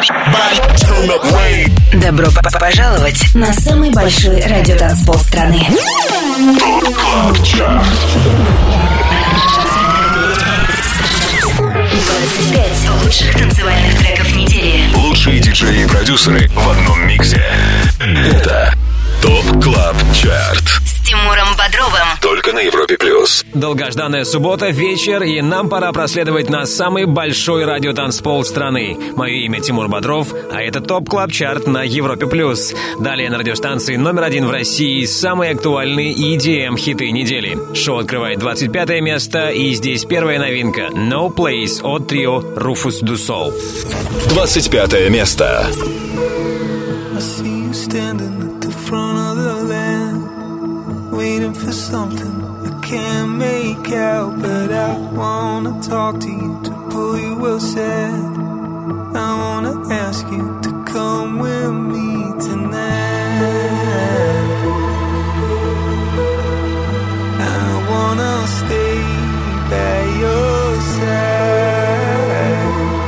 Добро пожаловать на самый большой радиотанцпол страны. 25 лучших танцевальных треков недели. Лучшие диджеи и продюсеры в одном миксе. Это ТОП Клаб Чарт С Тимуром Бодровым. только на Европе Плюс. Долгожданная суббота, вечер, и нам пора проследовать на самый большой радиотанцпол страны. Мое имя Тимур Бодров, а это ТОП Клаб Чарт на Европе Плюс. Далее на радиостанции номер 1 в России самые актуальные EDM-хиты недели. Шоу открывает 25 место, и здесь первая новинка No Place от трио Rufus Du Sol. 25 место. Waiting for something I can't make out, but I wanna talk to you to pull you aside. I wanna ask you to come with me tonight. I wanna stay by your side.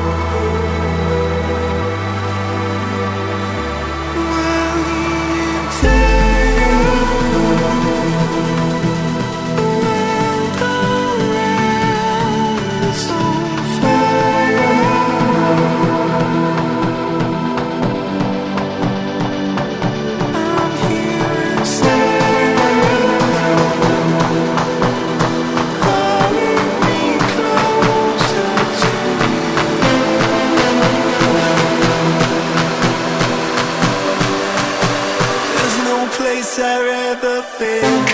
I'd rather be.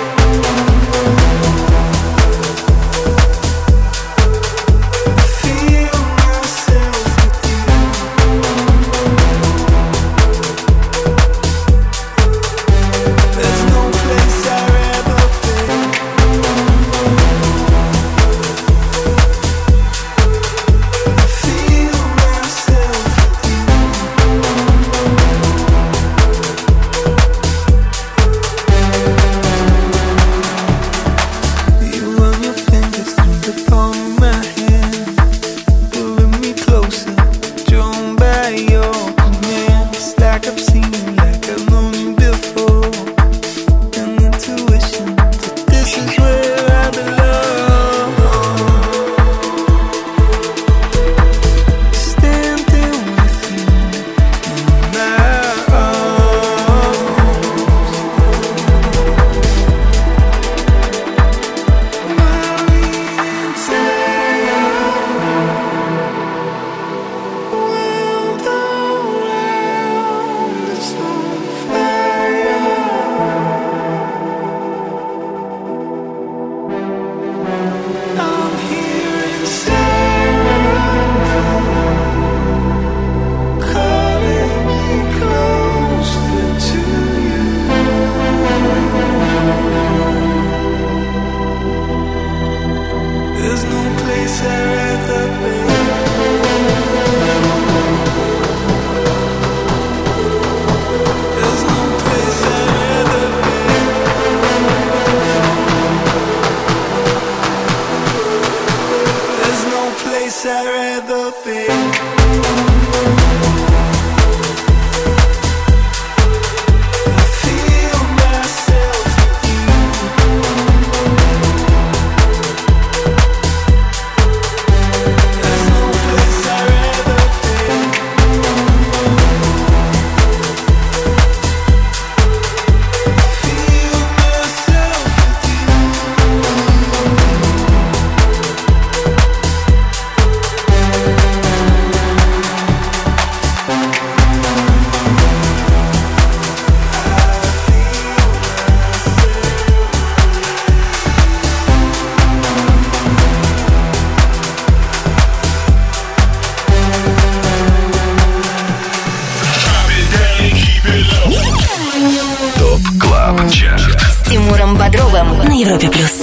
С Тимуром Бодровым на Европе Плюс.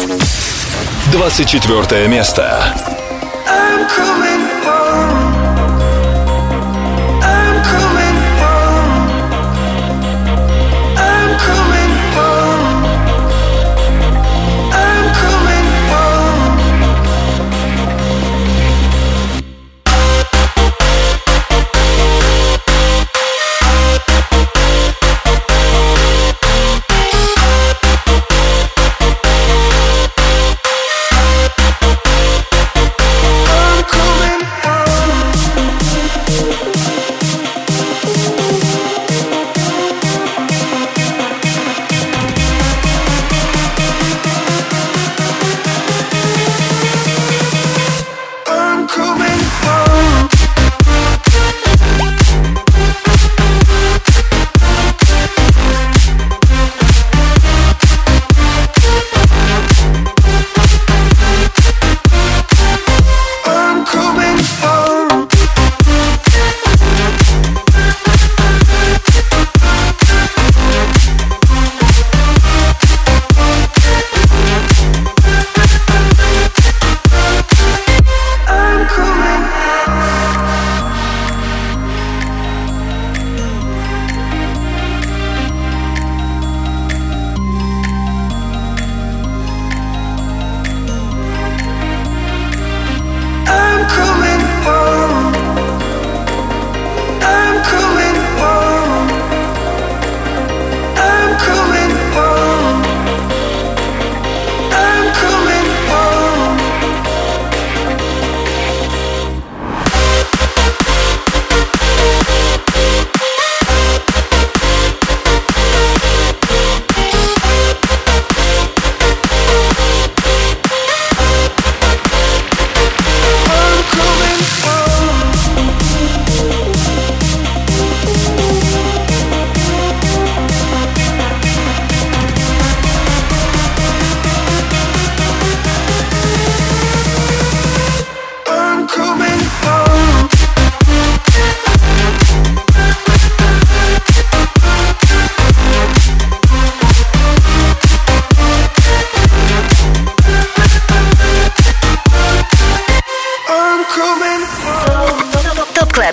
24 место. I'm coming home. I'm coming home. I'm coming home. I'm coming home.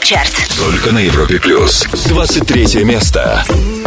Чарт. Только на Европе Плюс. 23 место.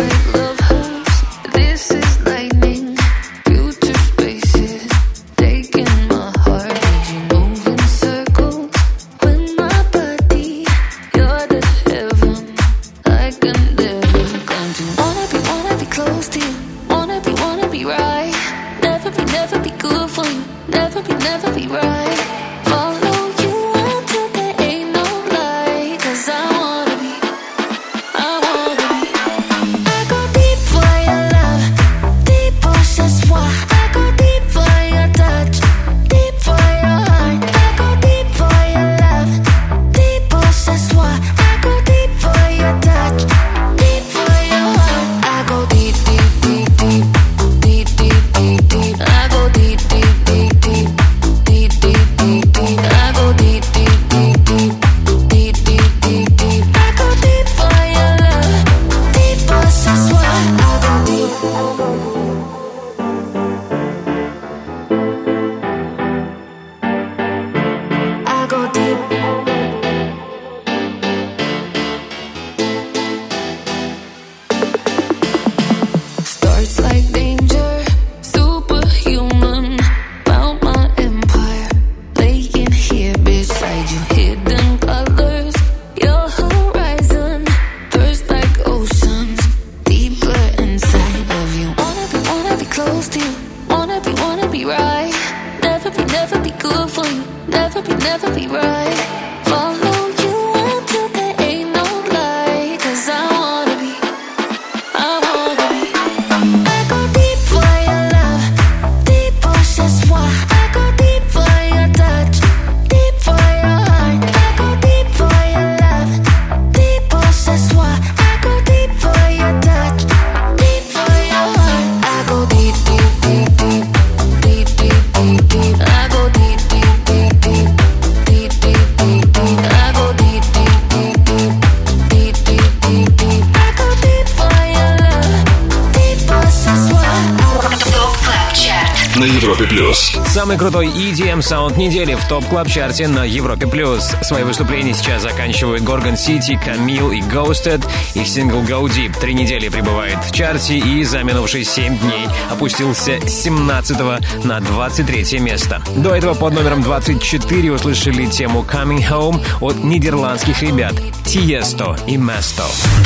Самый крутой EDM-саунд недели в топ-клаб-чарте на Европе+. Свои выступления сейчас заканчивают Gorgon City, Camille и Ghosted. Их сингл Go Deep 3 недели пребывает в чарте и за минувшие 7 дней опустился с 17 на 23 место. До этого под номером 24 услышали тему Coming Home от нидерландских ребят Tiesto и Mesto.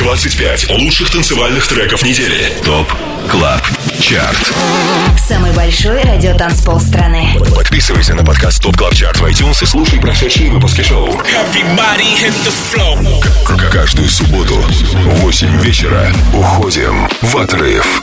25 лучших танцевальных треков недели. ТОП Клаб Чарт. Самый большой радиотанцпол страны. Подписывайся на подкаст ТОП Клаб Чарт в iTunes и слушай прошедшие выпуски шоу. Каждую субботу в 8 вечера уходим в отрыв.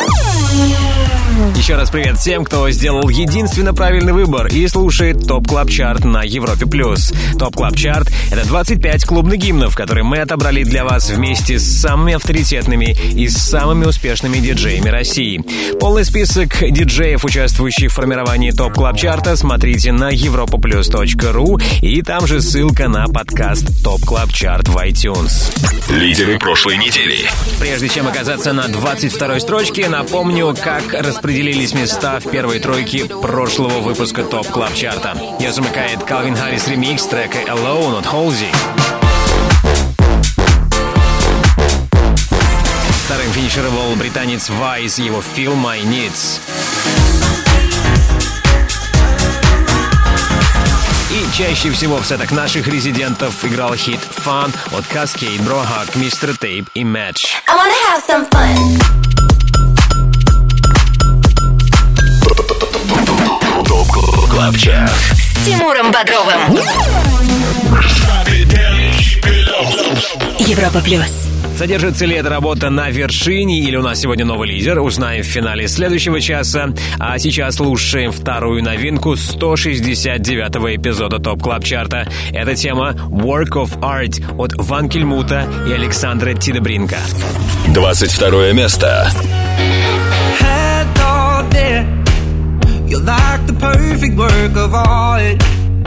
Еще раз привет всем, кто сделал единственно правильный выбор и слушает ТОП Клаб Чарт на Европе+. ТОП Клаб Чарт — это 25 клубных гимнов, которые мы отобрали для вас вместе с самыми авторитетными и самыми успешными диджеями России. Полный список диджеев, участвующих в формировании ТОП Клаб Чарта, смотрите на europaplus.ru, и там же ссылка на подкаст ТОП Клаб Чарт в iTunes. Лидеры прошлой недели. Прежде чем оказаться на 22-й строчке, напомню, как распределились места в первой тройке прошлого выпуска ТОП Клаб Чарта. Ее замыкает Calvin Harris ремикс трека Alone от Halsey. Вторым финишировал британец Vice, его Feel My Needs. И чаще всего в сетах наших резидентов играл хит Fun от Cascade, Bro Hug, Mr. Tape и Match. I wanna have some fun. ТОП Клаб Чарт С Тимуром Бодровым. Европа Плюс. Задержится ли эта работа на вершине или у нас сегодня новый лидер, узнаем в финале следующего часа. А сейчас слушаем вторую новинку 169-го эпизода ТОП Клаб Чарта. Это тема Work of Art от Ван Кельмута и Александра Тидебринка. 22 место. You're like the perfect work of art.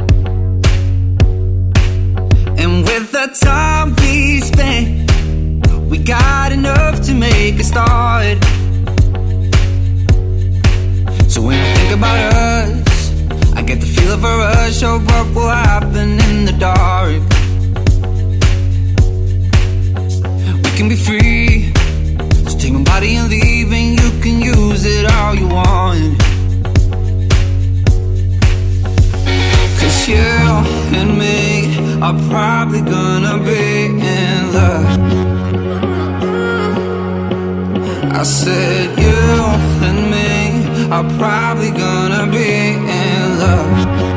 And with the time we spent, we got enough to make a start. So when I think about us, I get the feel of a rush of what will happen in the dark. can be free. So take my body and leave, and you can use it all you want. Cause you and me are probably gonna be in love. I said you and me are probably gonna be in love.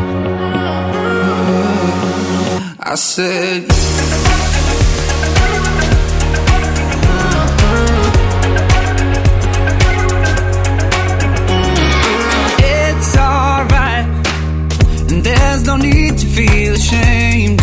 I said it's alright, and there's no need to feel ashamed.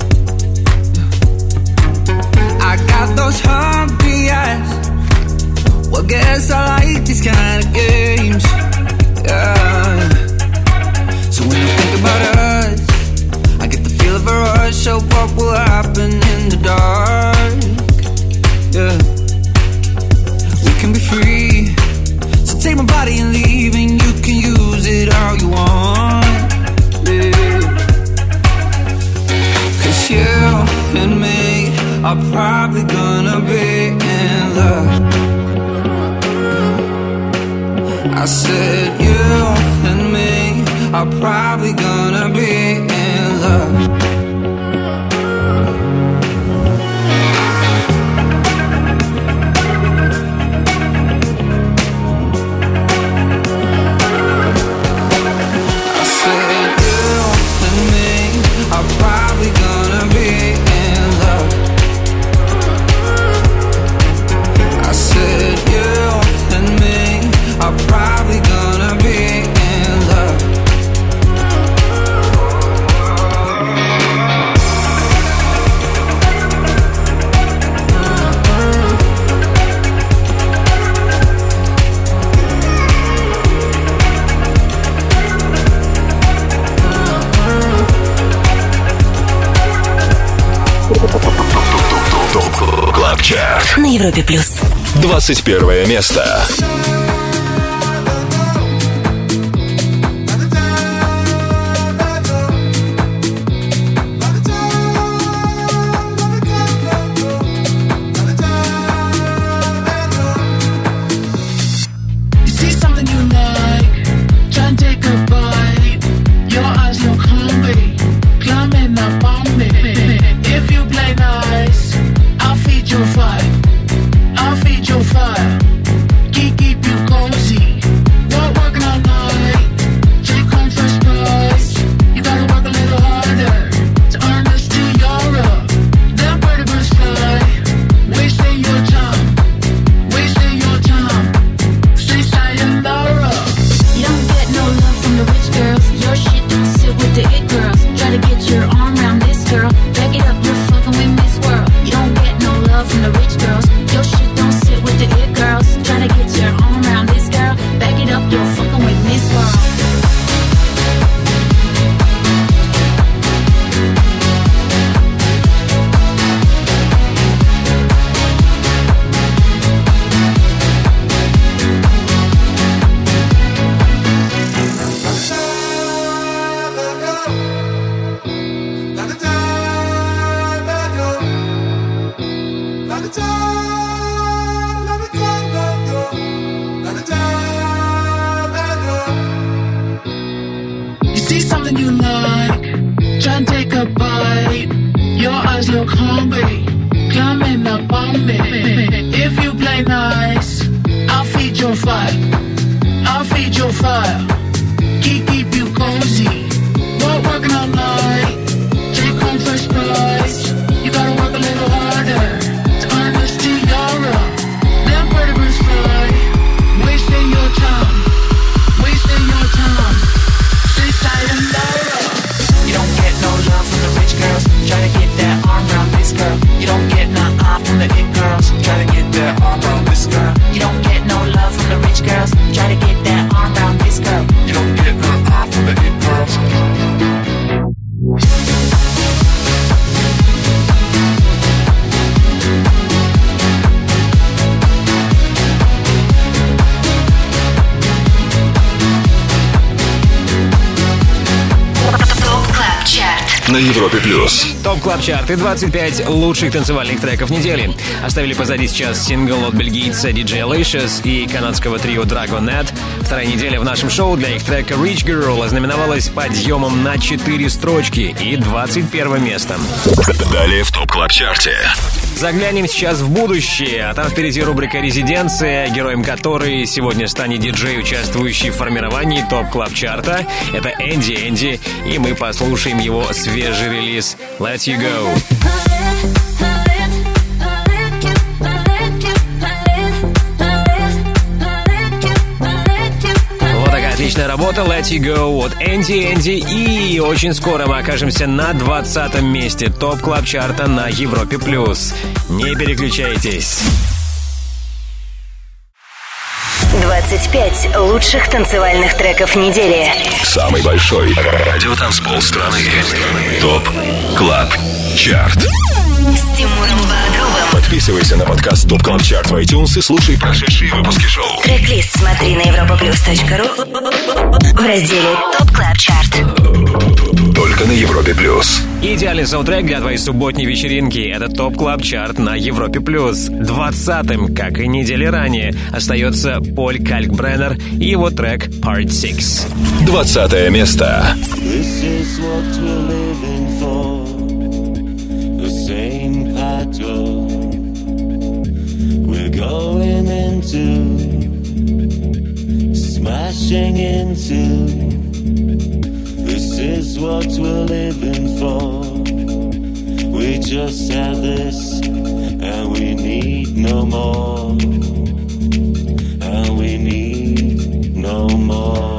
I got those hungry eyes. Well, guess I like these kind of games. Yeah. So when I think about us, I get the feel of a rush of what will happen in the dark. Yeah. We can be free. So take my body and leave, and you can use it all you want. Yeah. Cause you and me are probably gonna be in love. I said you and me are probably gonna be in love. I said you and me are probably gonna be in love. I said you and me are probably gonna be in love. ТОП КЛАБ ЧАРТ на Европе плюс. 21 место. Try to get that arm around this girl. на Европе+. ТОП Клаб Чарт и 25 лучших танцевальных треков недели. Оставили позади сейчас сингл от бельгийца DJ Alicious и канадского трио Dragonet. Вторая неделя в нашем шоу для их трека Rich Girl ознаменовалась подъемом на 4 строчки и 21 место. Далее в ТОП Клаб Чарте. Заглянем сейчас в будущее, а там впереди рубрика «Резиденция», героем которой сегодня станет диджей, участвующий в формировании ТОП Клаб Чарта. Это Энди, и мы послушаем его свежий релиз «Let You Go». Отличная работа, Let You Go от Энди. И очень скоро мы окажемся на 20-м месте ТОП Клаб Чарта на Европе+. Не переключайтесь. 25 лучших танцевальных треков недели. Самый большой радиотанцпол страны. ТОП Клаб Чарт. С Тимуром Бодровым. Подписывайся на подкаст ТОП Клаб Чарт в iTunes и слушай прошедшие выпуски шоу. Трек-лист смотри на europaplus.ru в разделе ТОП Клаб Чарт. Только на Европе+. Идеальный саундтрек для твоей субботней вечеринки. Это ТОП Клаб Чарт на Европе+. 20-м, как и недели ранее, остается Поль Калькбреннер и его трек Part 6. 20-е место. This is what we're living for. The same pattern we're going into, smashing into. This is what we're living for. We just have this, and we need no more. And we need no more.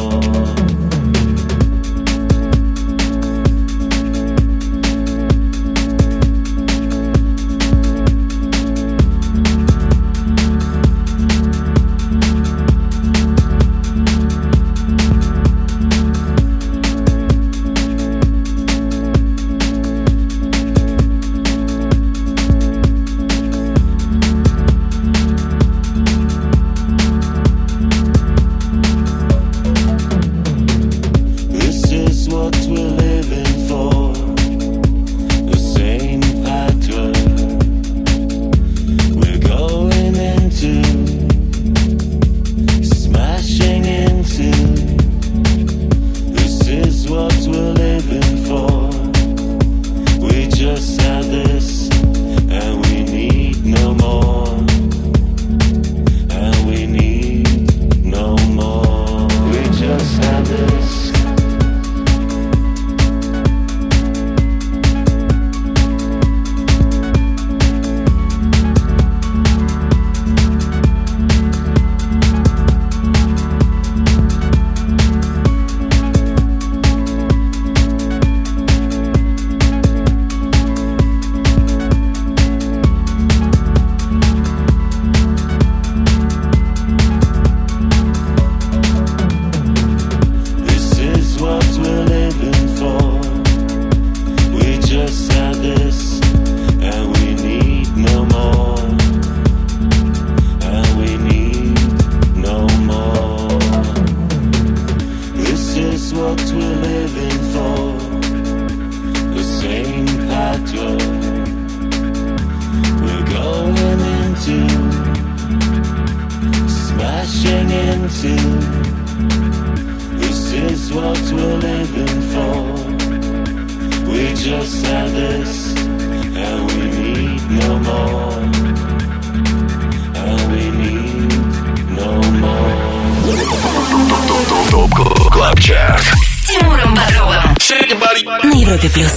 На Европе Плюс.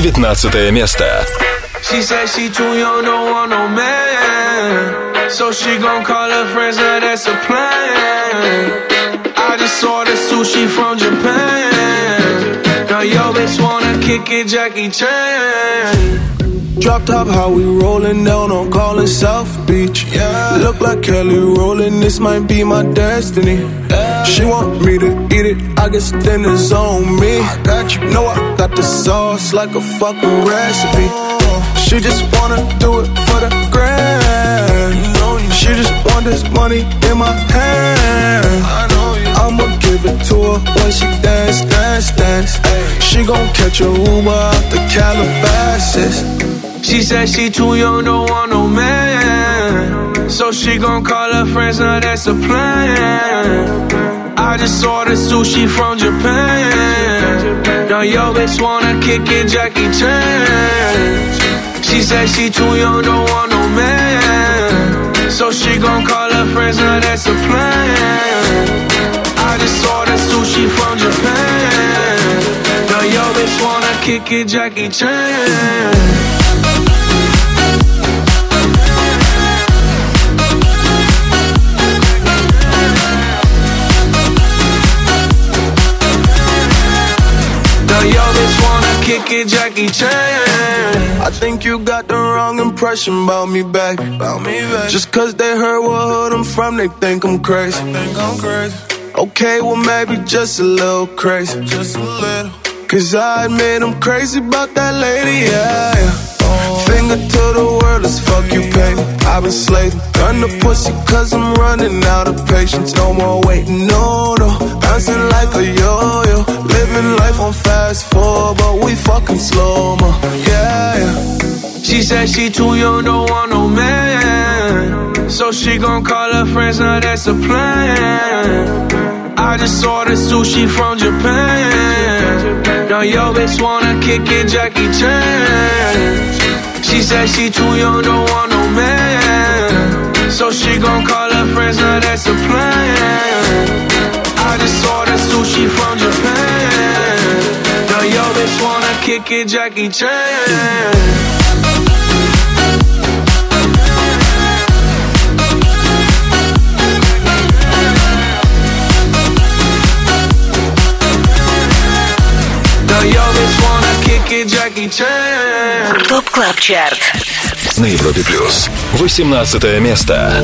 19 место. She said she too young, don't want no man. So she gon' call her friends, now that's a plan. I just ordered sushi from Japan. Now yo bitch wanna kick it, Jackie Chan. Drop top, how we rollin' down on Collins South Beach. Yeah. Look like Kelly rollin', this might be my destiny. Yeah. She want me to eat it, I guess dinner's on me. I got you, know I got the sauce like a fucking recipe. She just wanna do it for the grand. She just want this money in my hand. I'ma get give it to her when she dance, dance, dance. She gon' catch a Uber out the Calabasas. She said she too young, don't want no man, so she gon' call her friends, now that's a plan. I just ordered sushi from Japan. Now yo bitch wanna kick it, Jackie Chan. She said she too young, don't want no man, so she gon' call her friends, now that's a plan. I just ordered sushi from Japan. Now yo bitch wanna kick it, Jackie Chan. Yo, bitch wanna kick it, Jackie Chan. I think you got the wrong impression about me back. Just cause they heard what hood I'm from, they think I'm crazy. Okay, well maybe just a little crazy. Cause I admit I'm crazy about that lady, yeah. Finger to the world as fuck you pay me. I've been slaving, gun the pussy cause I'm running out of patience. No more waiting, no, bouncing like a yo-yo. Living life on fast forward, but we fucking slow-mo, yeah. She said she too young, don't want no man, so she gon' call her friends, now that's a plan. I just ordered sushi from Japan. Now yo bitch wanna kick it, Jackie Chan. She said she too young, don't want no man, so she gon' call her friends, now that's a plan. I just ordered sushi from Japan. Now yo bitch wanna kick it, Jackie Chan. Yo, bitch wanna kick it, Jackie Chan. Топ Клаб Чарт на Европе Плюс. 18 место.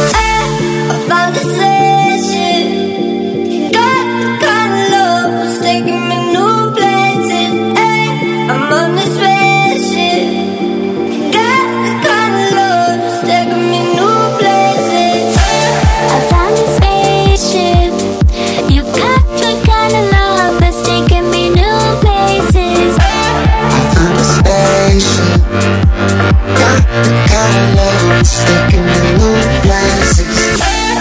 Sticking in new places.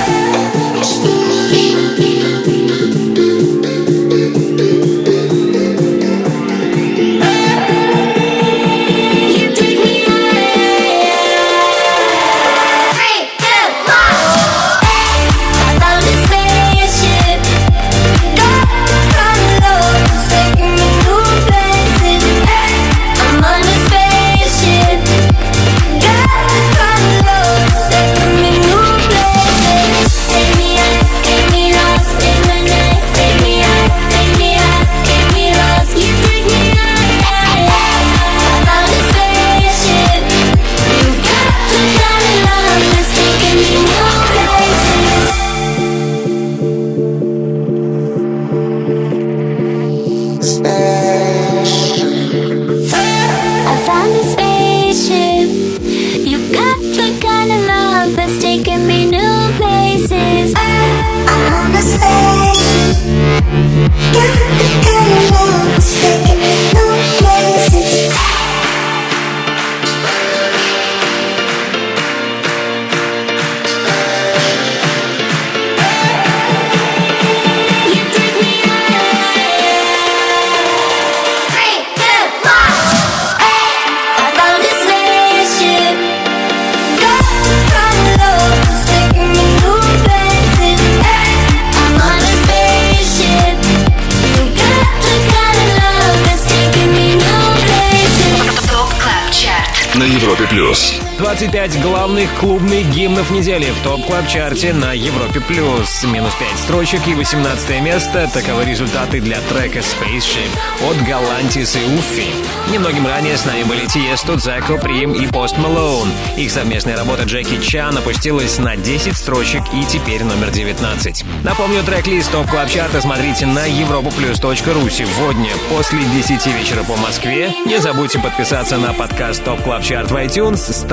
на Европе плюс. 25 главных клубных гимнов недели в топ-клаб-чарте на Европе плюс. Минус 5 строчек и 18 место. Таковы результаты для трека Spaceship от Galantis и Уффи. Немногим ранее с нами были Тиесто, Дзеко, Прим и Пост Малоун. Их совместная работа Джеки Чан опустилась на 10 строчек и теперь номер 19. Напомню, трек-лист топ-клаб-чарта смотрите на europoplus.ru сегодня после 10 вечера по Москве. Не забудьте подписаться на подкаст Топ Клаб Чарт в iTunes, ставьте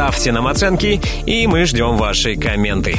ставьте нам оценки, и мы ждем ваши комменты.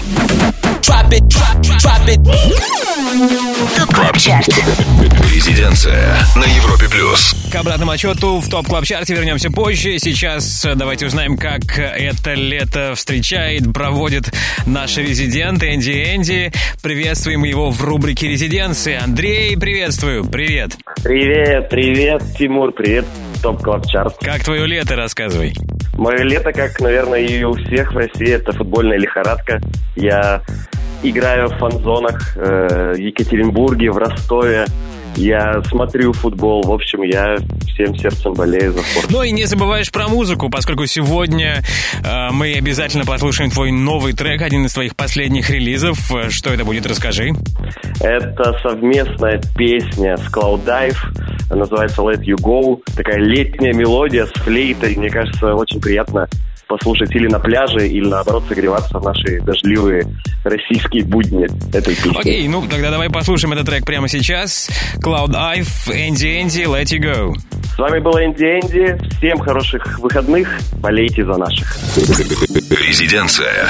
ТОП Клаб Чарт. Резиденция на Европе плюс. К обратному отчету в ТОП Клаб Чарте вернемся позже. Сейчас давайте узнаем, как это лето встречает, проводит наш резидент Энди. Приветствуем его в рубрике «Резиденция». Андрей, приветствую. Привет. Привет, Тимур, привет, ТОП Клаб Чарт. Как твое лето, рассказывай. Мое лето, как, наверное, и у всех в России, это футбольная лихорадка. Я играю в фан-зонах в Екатеринбурге, в Ростове. Я смотрю футбол, в общем, я всем сердцем болею за спорт. Ну и не забываешь про музыку, поскольку сегодня мы обязательно послушаем твой новый трек, один из твоих последних релизов. Что это будет, расскажи. Это совместная песня с Cloud Dive, называется Let You Go. Такая летняя мелодия с флейтой, мне кажется, очень приятно послушать или на пляже, или наоборот согреваться в наши дождливые российские будни этой песни. Окей, ну тогда давай послушаем этот трек прямо сейчас. Cloud Dive, Энди, Let You Go. С вами был Энди. Всем хороших выходных. Болейте за наших. Резиденция.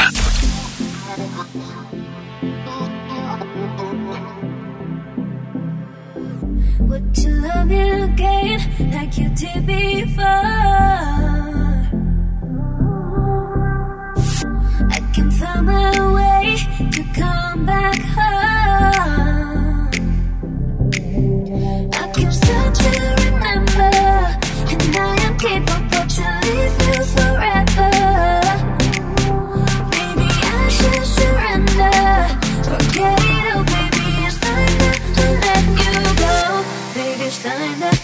Would you love me again like you did before? I can find my way to come back home. I can start to remember, and I am capable to leave you forever. Maybe I should surrender. Forget it, oh baby, it's time to let you go. Baby, it's time to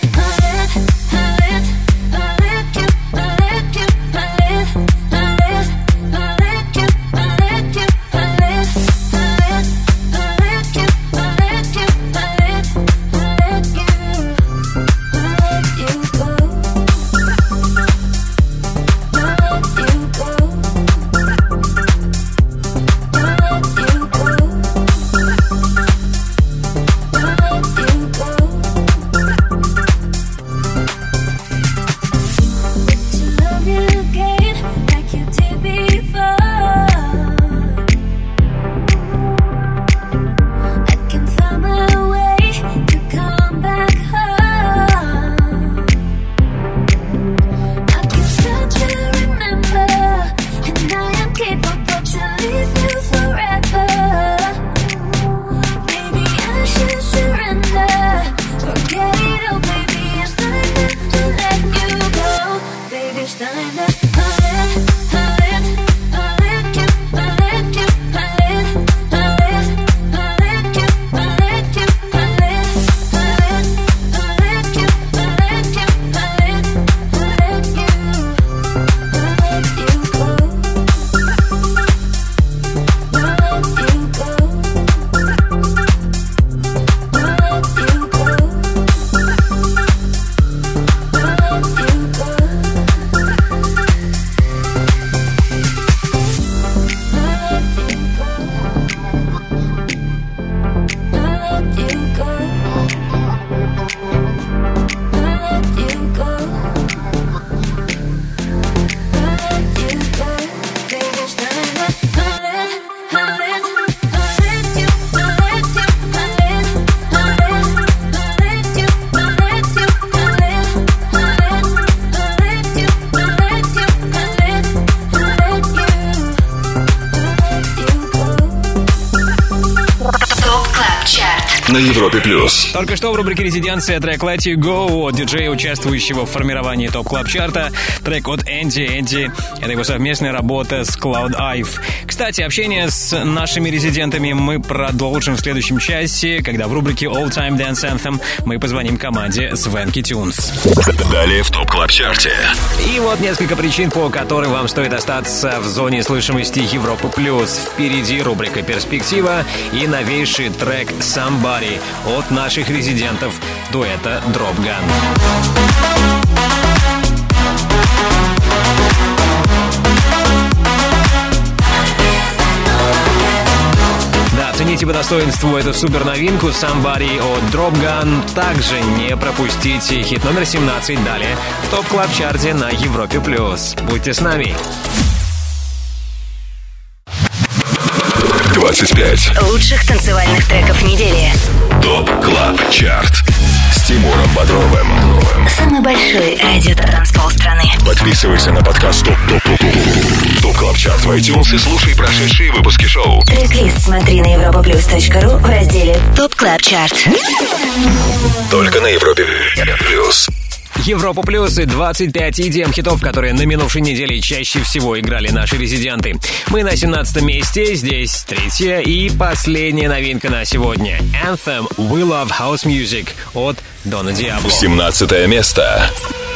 на Европе плюс. Только что в рубрике «Резиденция» трек «Let You Go» от диджея, участвующего в формировании ТОП Клаб Чарта. Трек от Энди. Это его совместная работа с Cloud Dive. Кстати, общение с нашими резидентами мы продолжим в следующем часе, когда в рубрике All Time Dance Anthem мы позвоним команде Swanky Tunes. Далее в ТОП Клаб Чарте. И вот несколько причин, по которым вам стоит остаться в зоне слышимости Европы плюс. Впереди рубрика «Перспектива» и новейший трек «Somebody» от наших резидентов дуэта Drop Gun. Да, цените по достоинству эту супер новинку Somebody от Drop Gun. Также не пропустите хит номер 17 далее в ТОП Клаб Чарте на Европе плюс. Будьте с нами. 25 лучших танцевальных треков недели. ТОП КЛАБ ЧАРТ с Тимуром Бодровым. Самый большой радио-транспол страны. Подписывайся на подкаст ТОП КЛАБ ЧАРТ в iTunes и слушай прошедшие выпуски шоу. Трек-лист смотри на europaplus.ru в разделе ТОП КЛАБ ЧАРТ. Только на Европе Плюс. Европа Плюс и 25 EDM-хитов, которые на минувшей неделе чаще всего играли наши резиденты. Мы на 17 месте, здесь третья и последняя новинка на сегодня. Anthem We Love House Music от Дона Диабло. 17 место.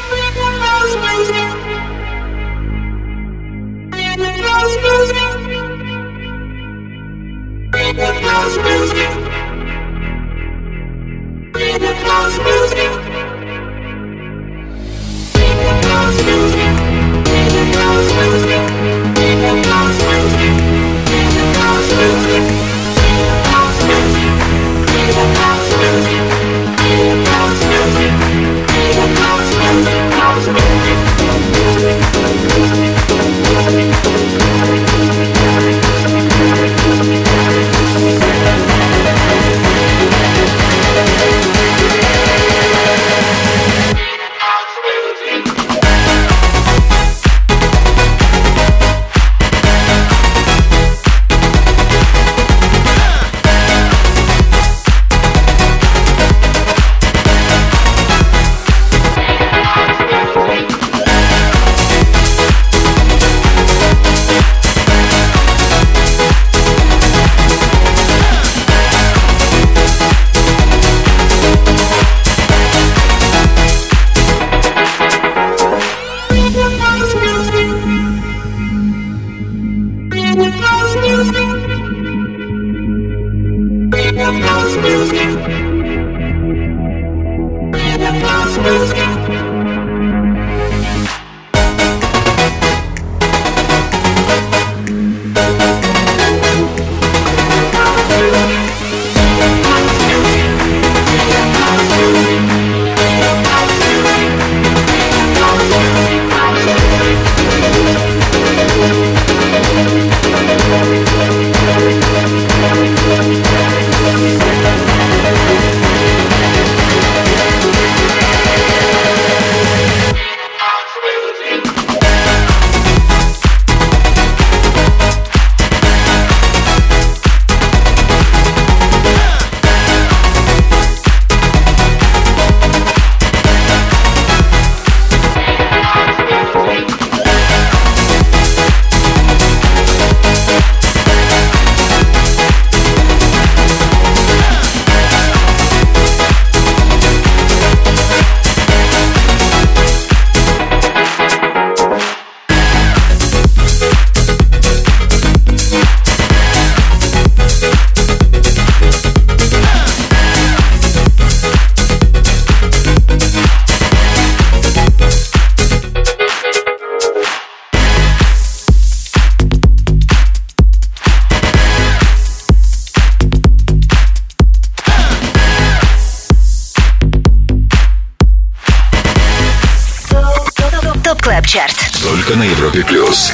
Чарт. Только на Европе Плюс.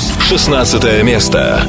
16 место.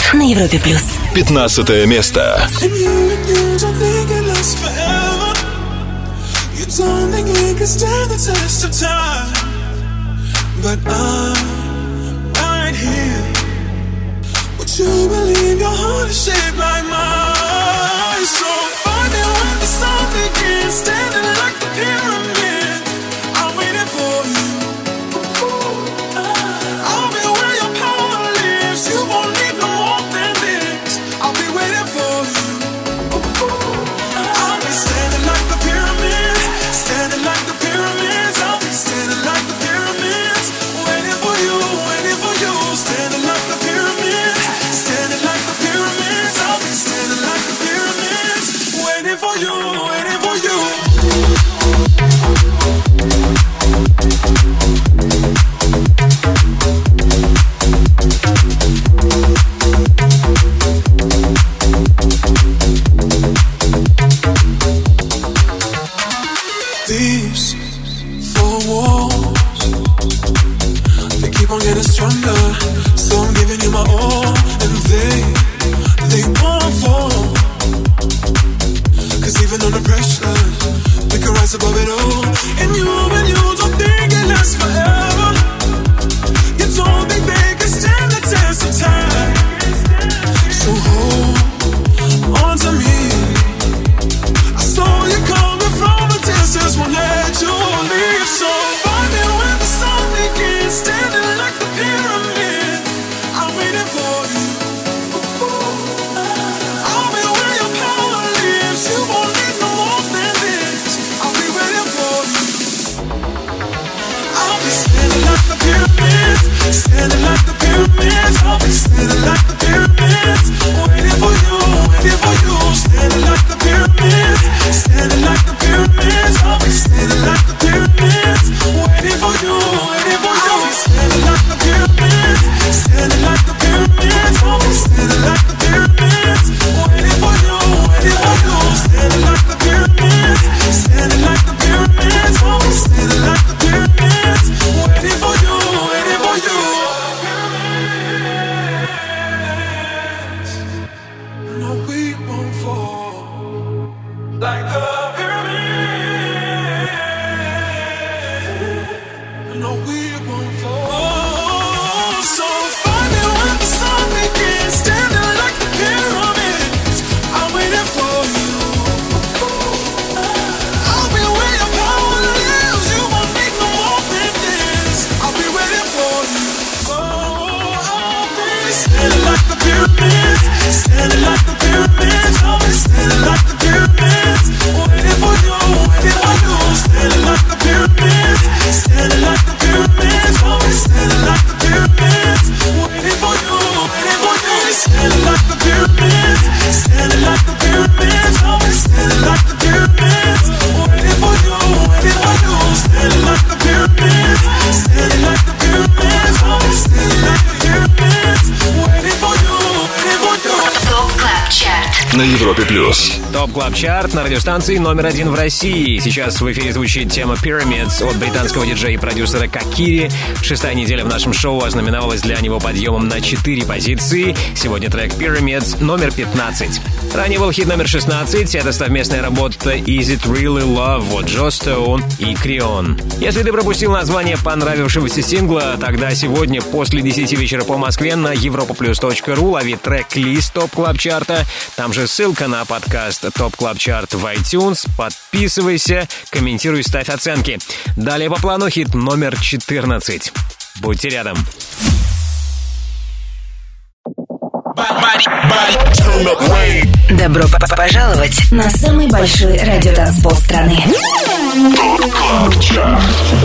чарт на Европе+. 15 место. You don't think it can stand the test of time, but I'm right here. Would you believe your heart is shaped like mine? So find me when the sun begins, standing like the pyramids. I'm waiting for you. I'll be where your power lives. You won't need no more than this. I'll be waiting for you. I'll be standing like the pyramids. Standing like the pyramids, I'll be standing like the pyramids, waiting for you, waiting for you. Standing like the pyramids, standing like the pyramids, I'll be standing like the pyramids, waiting for you, waiting for you. These four walls, they keep on getting stronger. So I'm giving you my all, and they won't fall. Cause even under pressure, we can rise above it all. And you don't think it lasts forever. You don't think they can stand the test of time. So hold on to me. I saw you coming from a distance, won't let you leave. So find me when the sun begins, standing like the pyramid. I'm waiting for you. I'll be where your power lives. You won't need no more than this. I'll be waiting for you. I'll be standing like the pyramids, standing like the pyramids. I'll be standing like the pyramids, waiting for you, waiting for you. Standing like the pyramids, standing like the pyramids. I'll be standing like the pyramids, waiting for you, waiting for you. I'll be standing like the pyramids, standing like the pyramids. I'll be standing like the pyramids, waiting for you, waiting for you. Standing like the pyramids, standing like the pyramids. I'll be standing like the pyramids, waiting for you, waiting for you. No, we won't fall like the pyramid. No, we won't fall. So find me when the sun begins, standing like the pyramids. I'm waiting for you. I'll be where your power lives. You won't need no more than this. I'll be waiting for you. I'll be standing like the pyramids, standing like the pyramids. I'll be standing like the pyramids, waiting for you, waiting for you. Standing like the pyramids, standing like the pyramids. I'll be standing like the pyramids, waiting for you, waiting for you. Standing like the pyramids, standing like the pyramids. I'll be standing like the pyramids, waiting for you, waiting for you. Standing like the pyramids, standing like the pyramids. I'll be standing like the pyramids, waiting for you, waiting for you. ТОП КЛАБ ЧАРТ На Европе плюс. ТОП КЛАБ ЧАРТ на радиостанции номер 1 в России. Сейчас в эфире звучит тема Pyramids от британского диджея и продюсера Кокири. 6-я неделя в нашем шоу ознаменовалась для него подъемом на 4 позиции. Сегодня трек Pyramids номер 15. Ранее был хит номер 16. Это совместная работа Is It Really Love от Джо Стоун и Крион. Если ты пропустил название понравившегося сингла, тогда сегодня после 10 вечера по Москве на europaplus.ru лови трек-лист ТОП КЛАБ ЧАРТа. Там же ссылка на подкаст ТОП КЛАБ ЧАРТ в iTunes. Подписывайся, комментируй, ставь оценки. Далее по плану хит номер 14. Будьте рядом. Добро пожаловать на самый большой радиотанцпол страны. ТОП КЛАБ ЧАРТ.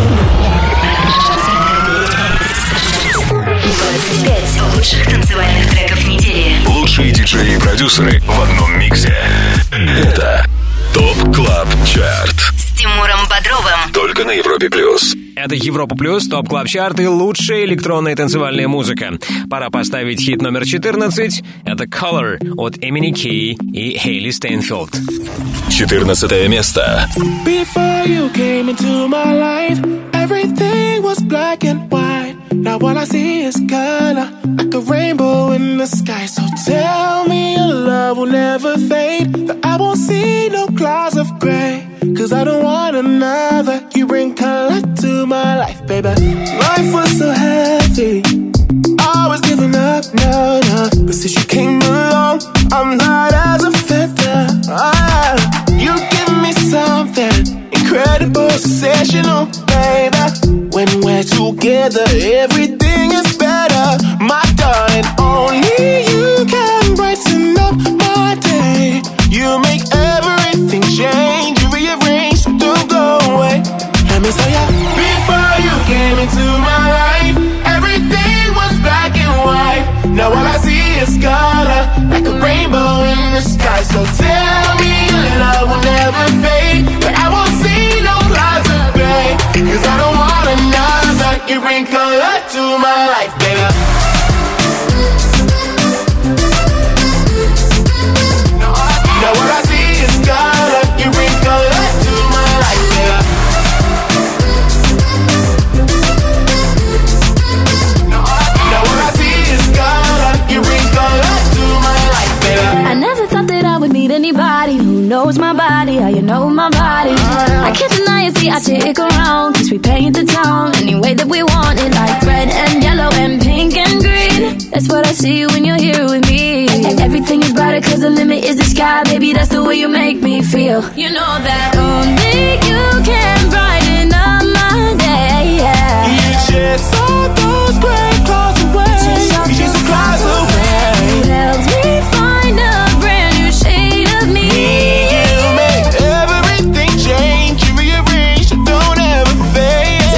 25 лучших танцевальных треков недели. Лучшие диджеи и продюсеры в одном миксе. Это ТОП КЛАБ ЧАРТ. С Тимуром Бодровым. Только на Европе плюс. Это Европа Плюс, ТОП КЛАБ ЧАРТ и лучшая электронная танцевальная музыка. Пора поставить хит номер 14. Это Color от Эмини Кей и Хейли Стейнфилд. 14 место. Before you came into my life, everything was black and white. Now all I see is color, like a rainbow in the sky. So tell me your love will never fade, that I won't see no clouds of gray. Cause I don't want another. You bring color to my life, baby. Life was so heavy, I was giving up, no. But since you came along, I'm light as a feather. You give me something incredible, sensational, baby. When we're together, everything is better. My darling, only you can brighten up my day. You make everything change, you rearrange, so don't go away. Let me tell ya, before you came into my life, everything was black and white. Now all I see is color, like a rainbow in the sky. So tell me your love will never fade, but I won't see no clouds of gray. Cause I don't want another. You bring color to my life, baby. Now all I see is color. You bring color to my life, baby. Now all I see is color. You bring color to my life, baby. I never thought that I would meet anybody who knows my body, how you know my body. I can't deny it, see I stick around, cause we paint the town any way that we want it, like red and yellow and pink and green. That's what I see when you're here with me. Everything is brighter cause the limit is the sky. Baby, that's the way you make me feel. You know that only you can brighten up my day, yeah. You chase all those gray clouds away. You chase the clouds away. You helped me find a brand new shade of me. You make everything change, you rearrange, so don't ever fade.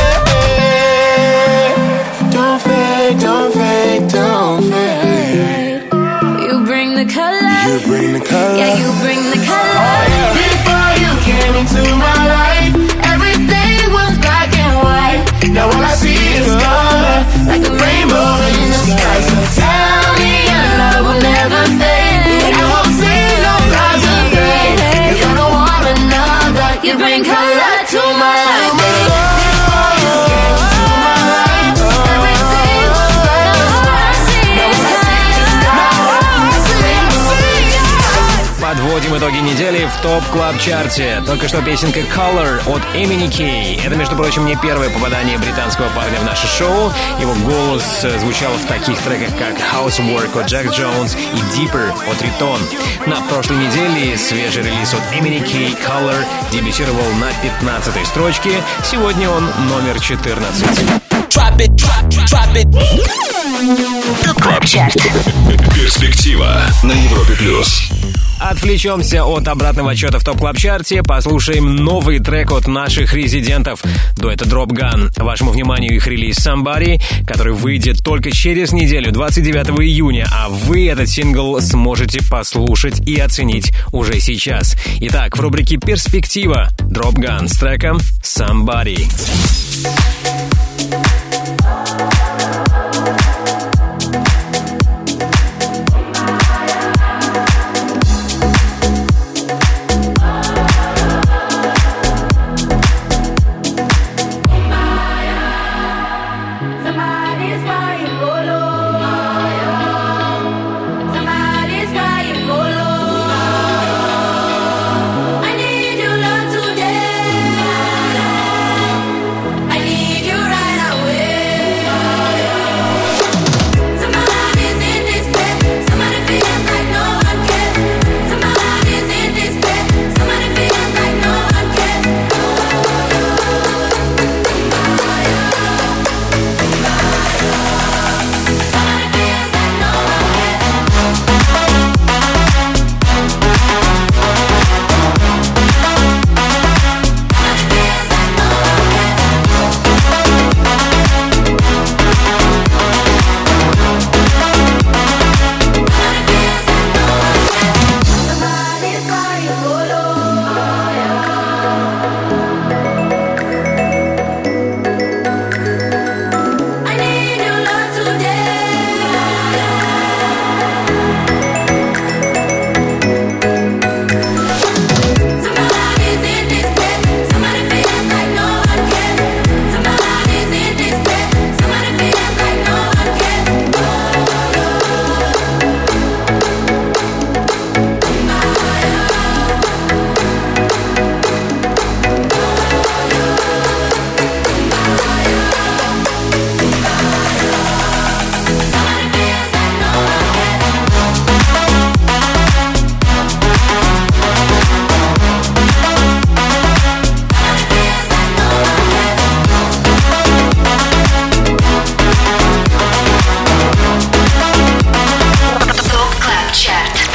Don't fade, don't fade, don't fade. You bring the color. You bring the color. Yeah, you bring the color. Oh, yeah. Before you came into my life, everything was black and white. Now all I see is color, like a rainbow in the sky. So tell me your love will never fade, I won't see no clouds of gray. Cause I don't want another. You bring color to my life, baby. Before you came into my life, everything was black and white. Now all I see is color. Подводим итоги недели в ТОП Клаб Чарте. Только что песенка Color от Эмини Кей. Это, между прочим, не первое попадание британского парня в наше шоу. Его голос звучал в таких треках, как Housework от Джек Джонс и Deeper от Ритон. На прошлой неделе свежий релиз от Эмини Кей Color дебютировал на 15-й строчке. Сегодня он номер 14. ТОП Клаб Чарт. Перспектива на Европе плюс. Отвлечемся от обратного отчета в ТОП Клаб Чарте, послушаем новый трек от наших резидентов дуэта Drop Gun. Вашему вниманию их релиз Somebody, который выйдет только через неделю, 29 июня, а вы этот сингл сможете послушать и оценить уже сейчас. Итак, в рубрике «Перспектива» Drop Gun с треком Somebody. I need you right away.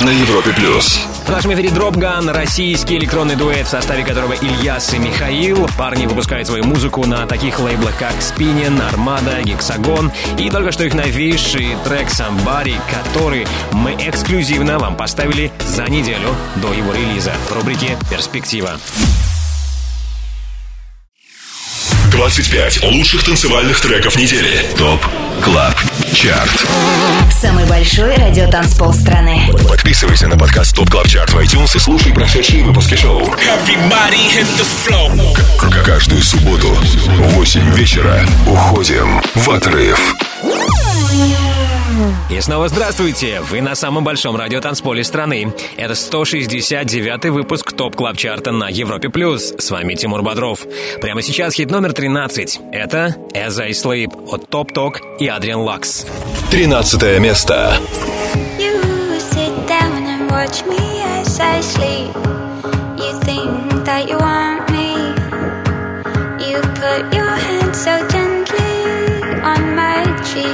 на Европе+. В нашем эфире Dropgun, российский электронный дуэт, в составе которого Ильяс и Михаил. Парни выпускают свою музыку на таких лейблах, как Spinnin, Armada, Hexagon. И только что их новейший трек Somebody, который мы эксклюзивно вам поставили за неделю до его релиза в рубрике «Перспектива». 25 лучших танцевальных треков недели. ТОП Клаб Чарт. Самый большой радиотанцпол страны. Подписывайся на подкаст ТОП Клаб Чарт в iTunes и слушай прошедшие выпуски шоу. Каждую субботу в 8 вечера уходим в отрыв. И снова здравствуйте! Вы на самом большом радиотанцполе страны. Это 169-й выпуск ТОП Клаб Чарта на Европе+. С вами Тимур Бодров. Прямо сейчас хит номер 13. Это As I Sleep от Топ Ток и Адриан Лакс. 13 место. You sit down and watch me as I sleep. You think that you want me. You put your hand so gently on my cheek.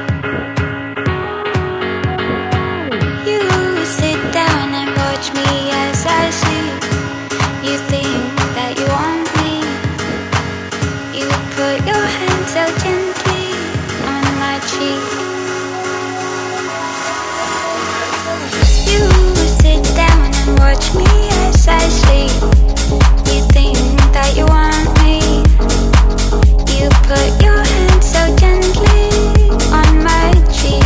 Me as I sleep. You think that you want me. You put your hand so gently on my cheek. You sit down and watch me as I sleep. You think that you want me. You put your hand so gently on my cheek.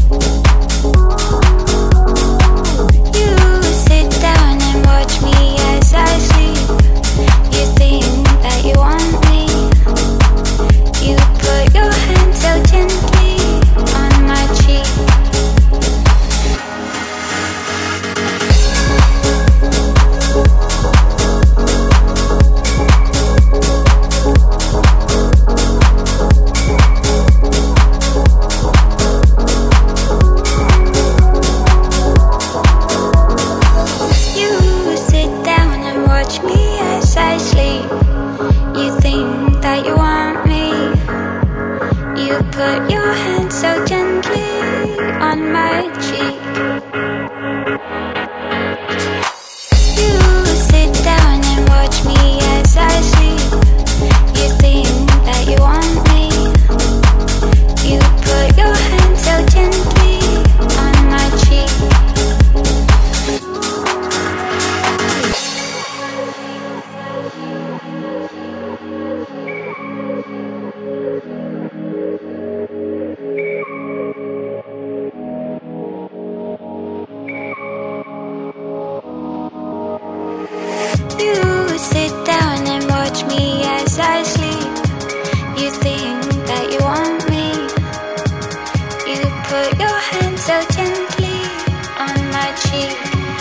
Watch me as I sleep. You think that you want me. You put your hand so gently on my cheek. Put your hand so gently on my cheek. You sit down and watch me as I sleep. You think that you want me. You put your hand so gently on my cheek. I sleep. You think that you want me. You put your hand so gently on my cheek.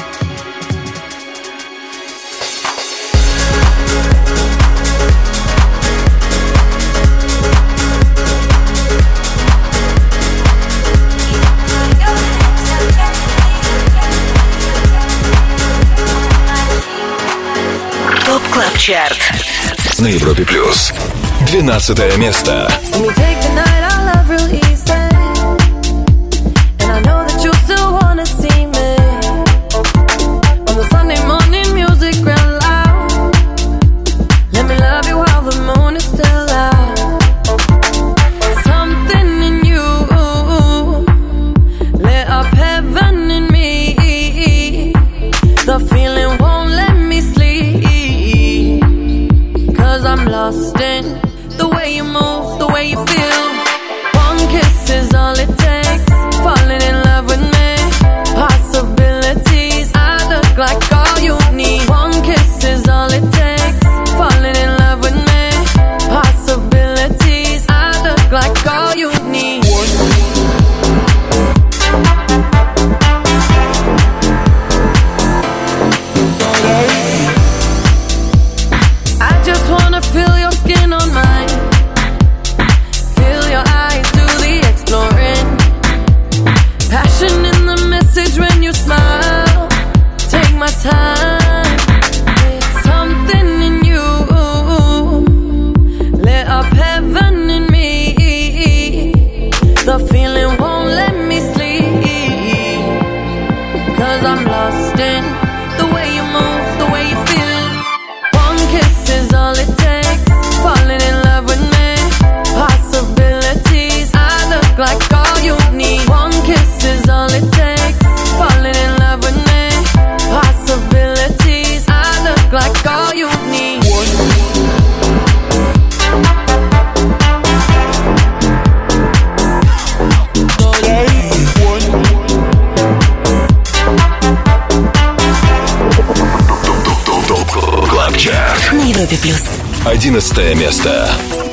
ТОП Клаб Чарт на Европе+. 12 место. Lost in the way you move, the way you feel. One kiss is all it takes. Falling in love with me. Possibilities, I look like all you need. One kiss is all it takes. Falling in love with me. Possibilities, I look like all you need. I just wanna feel your skin on mine. Feel 11 место.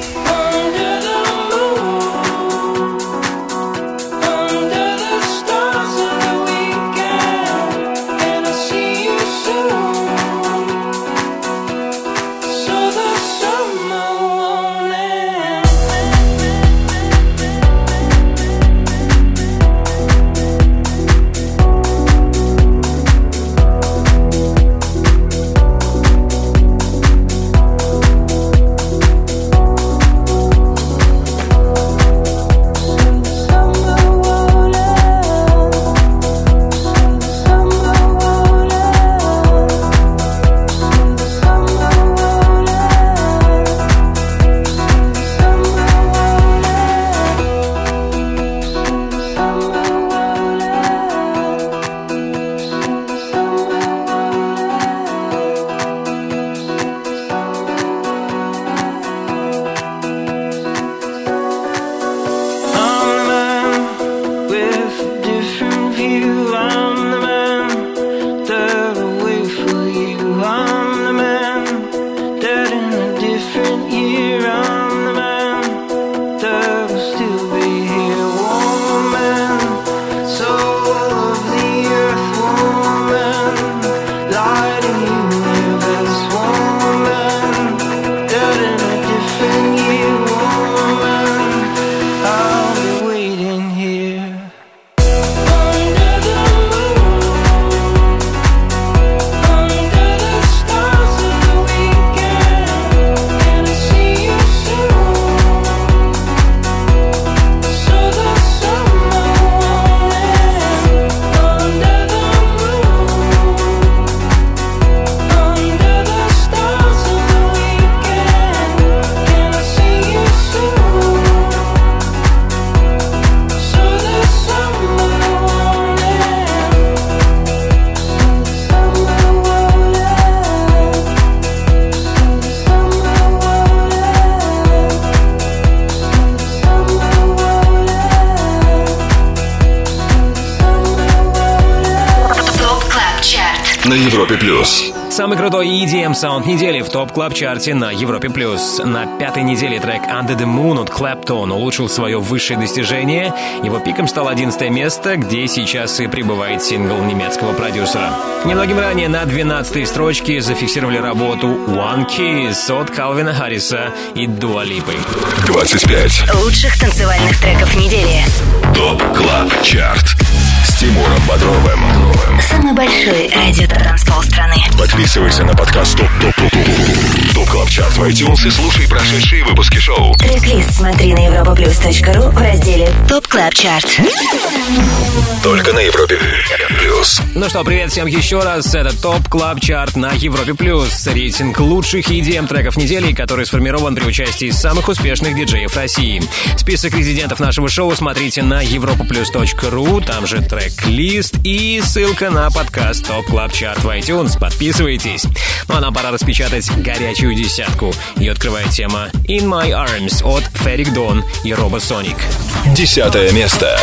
На Европе плюс. Самый крутой EDM саунд недели в топ-клаб-чарте на Европе+. На 5-й неделе трек Under the Moon от Clapton улучшил свое высшее достижение. Его пиком стало 11 место, где сейчас и пребывает сингл немецкого продюсера. Немногим ранее на 12-й строчке зафиксировали работу One Kiss от Калвина Харриса и Дуа Липы. 25 лучших танцевальных треков недели. ТОП-КЛАБ-чарт с Тимуром Бодровым. Самый большой радио-транспол страны. Подписывайся на подкаст ТОП-КЛАБ-чарт в iTunes и слушай прошедшие выпуски шоу. Трек-лист смотри на europaplus.ru в разделе ТОП Клаб Чарт. Только на Европе плюс. Ну что, привет всем еще раз. Это ТОП Клаб Чарт на Европе плюс. Рейтинг лучших EDM треков недели, который сформирован при участии самых успешных диджеев России. Список резидентов нашего шоу смотрите на europaplus.ru. Там же трек-лист и ссылка на подкаст ТОП Клаб Чарт в iTunes. Подписывайтесь. Ну а нам пора распечатать горячую десятку. Ее открывает тема In My Arms от Ferric Dawn и Робосоник. 10 место.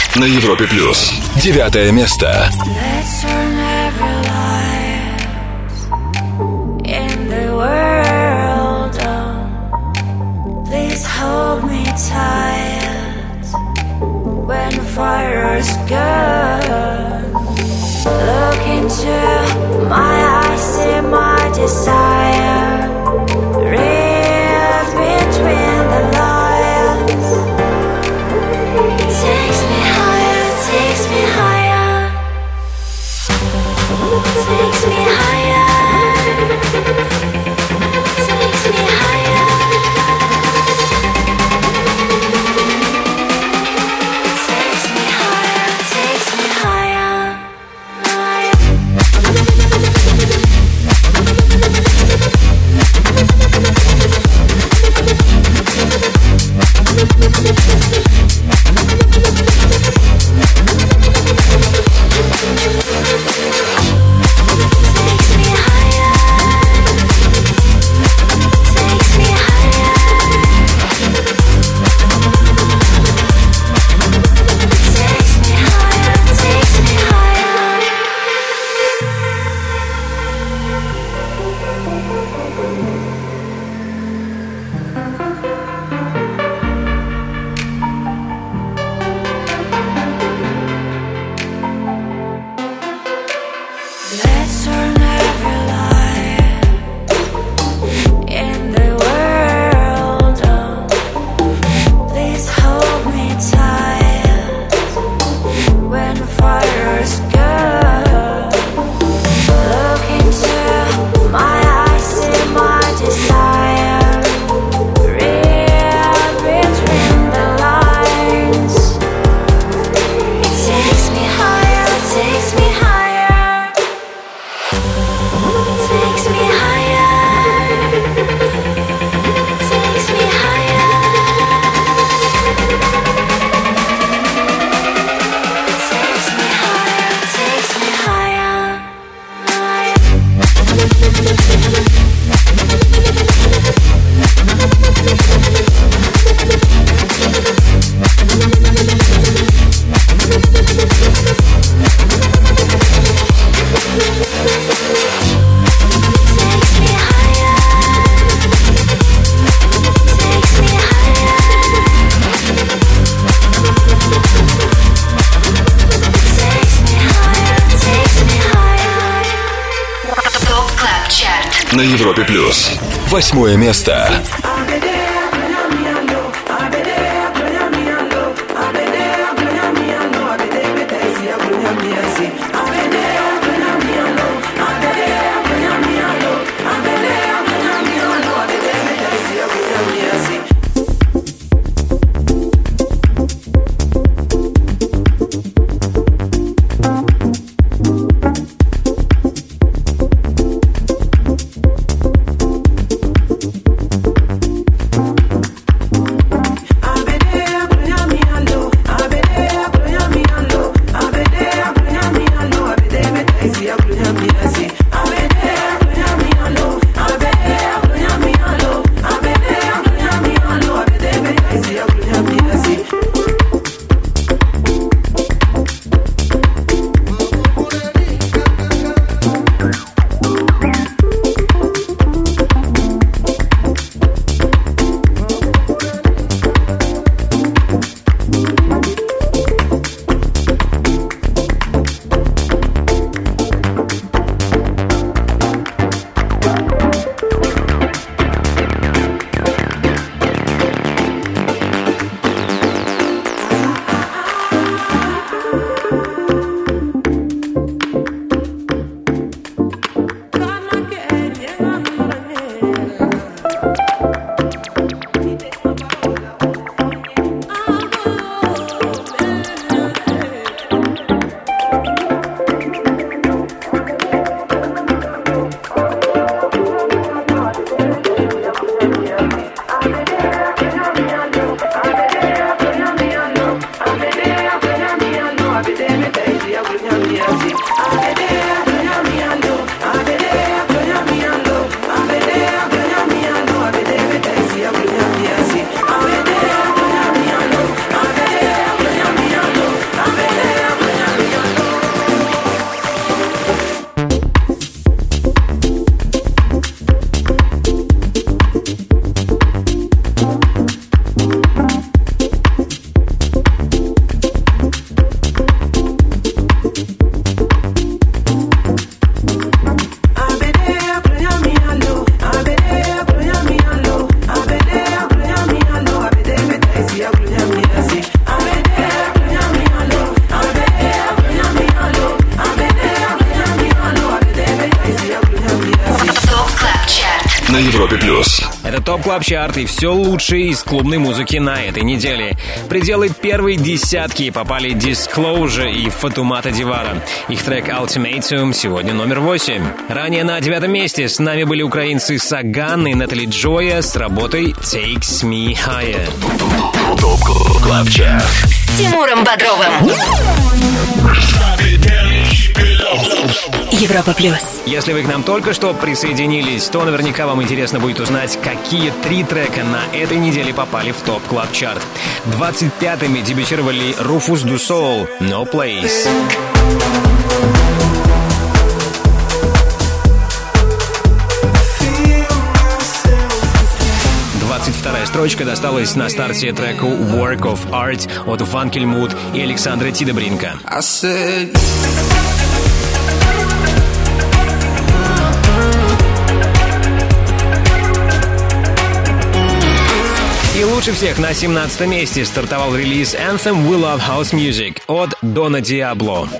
на Европе плюс. 9 место. Let's turn every light in the world on. Please hold me tight when the fire's gone. Look into my eyes, see my desire. Read between the lines. It takes me higher, takes me higher. Takes me higher. Takes me higher. Takes me higher, takes me higher. Let's turn every light in the world on. Please hold me tight when the fire's gone. Look into my eyes, see my desire. Read between the lines. It takes me higher, takes me higher. Takes me higher. Takes me higher. Takes me higher. Takes me higher. ТОП КЛАБ ЧАРТ На Европе плюс. 8 место. на Европе+. Это ТОП Клаб Чарт и все лучшее из клубной музыки на этой неделе. В пределы первой десятки попали Disclosure и Фатумата Дивара. Их трек Ultimatum сегодня номер 8. Ранее на 9 месте с нами были украинцы Саган и Натали Джоя с работой Takes Me Higher. ТОП Клаб Чарт С Тимуром Бодровым. Европа Плюс. Если вы к нам только что присоединились, то наверняка вам интересно будет узнать, какие 3 трека на этой неделе попали в ТОП Клаб Чарт. 25-ми дебютировали Rufus Du Sol, No Place. 22-я строчка досталась на старте треку Work of Art от Ванкельмут и Александра Тидебринка. И лучше всех на 17-м месте стартовал релиз Anthem We Love House Music от Дона Диабло.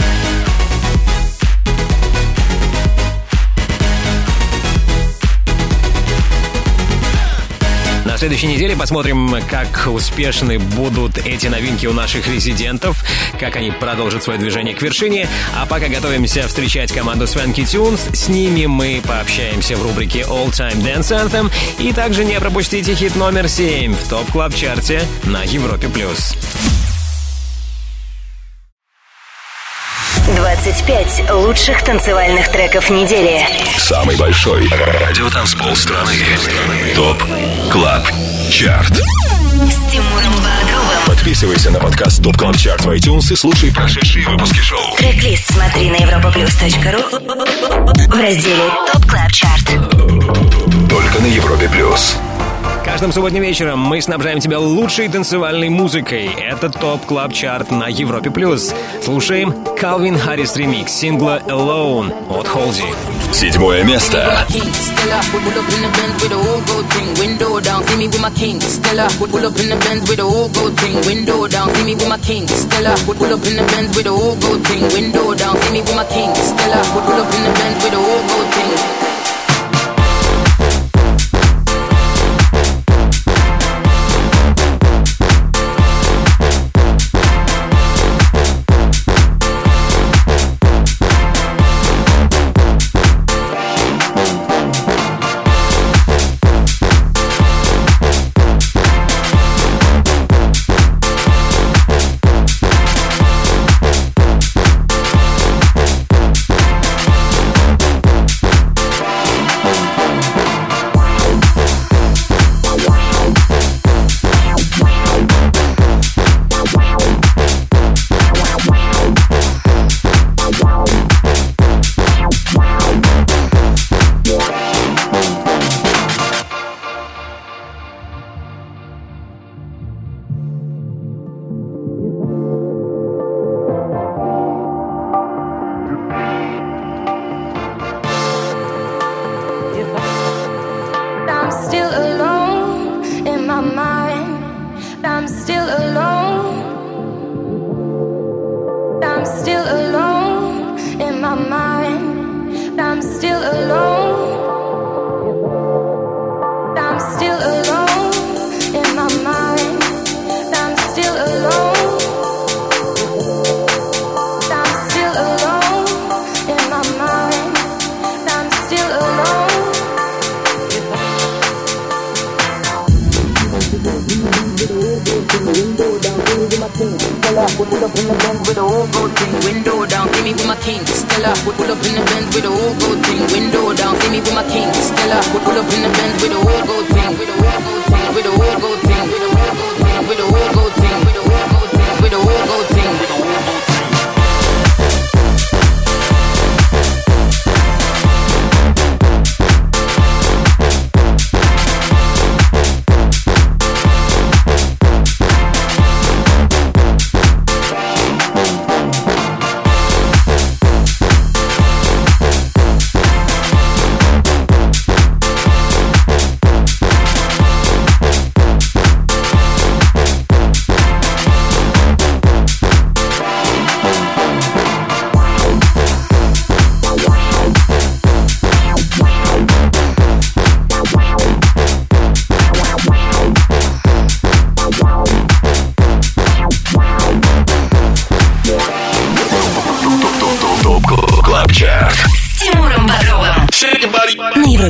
На следующей неделе посмотрим, как успешны будут эти новинки у наших резидентов, как они продолжат свое движение к вершине. А пока готовимся встречать команду Swanky Tunes, с ними мы пообщаемся в рубрике All Time Dance Anthem. И также не пропустите хит номер 7 в ТОП Клаб Чарте на Европе+. 25 лучших танцевальных треков недели. Самый большой радиотанцпол страны. ТОП Клаб Чарт. С Тимуром Бодровым. Подписывайся на подкаст ТОП Клаб Чарт в iTunes и слушай прошедшие выпуски шоу. Трек-лист смотри на europaplus.ru в разделе ТОП Клаб Чарт. Только на Европе+. Каждым субботним вечером мы снабжаем тебя лучшей танцевальной музыкой. Это ТОП Клаб Чарт на Европе+. Слушаем Calvin Harris ремикс сингла Alone от Halsey. 7 место.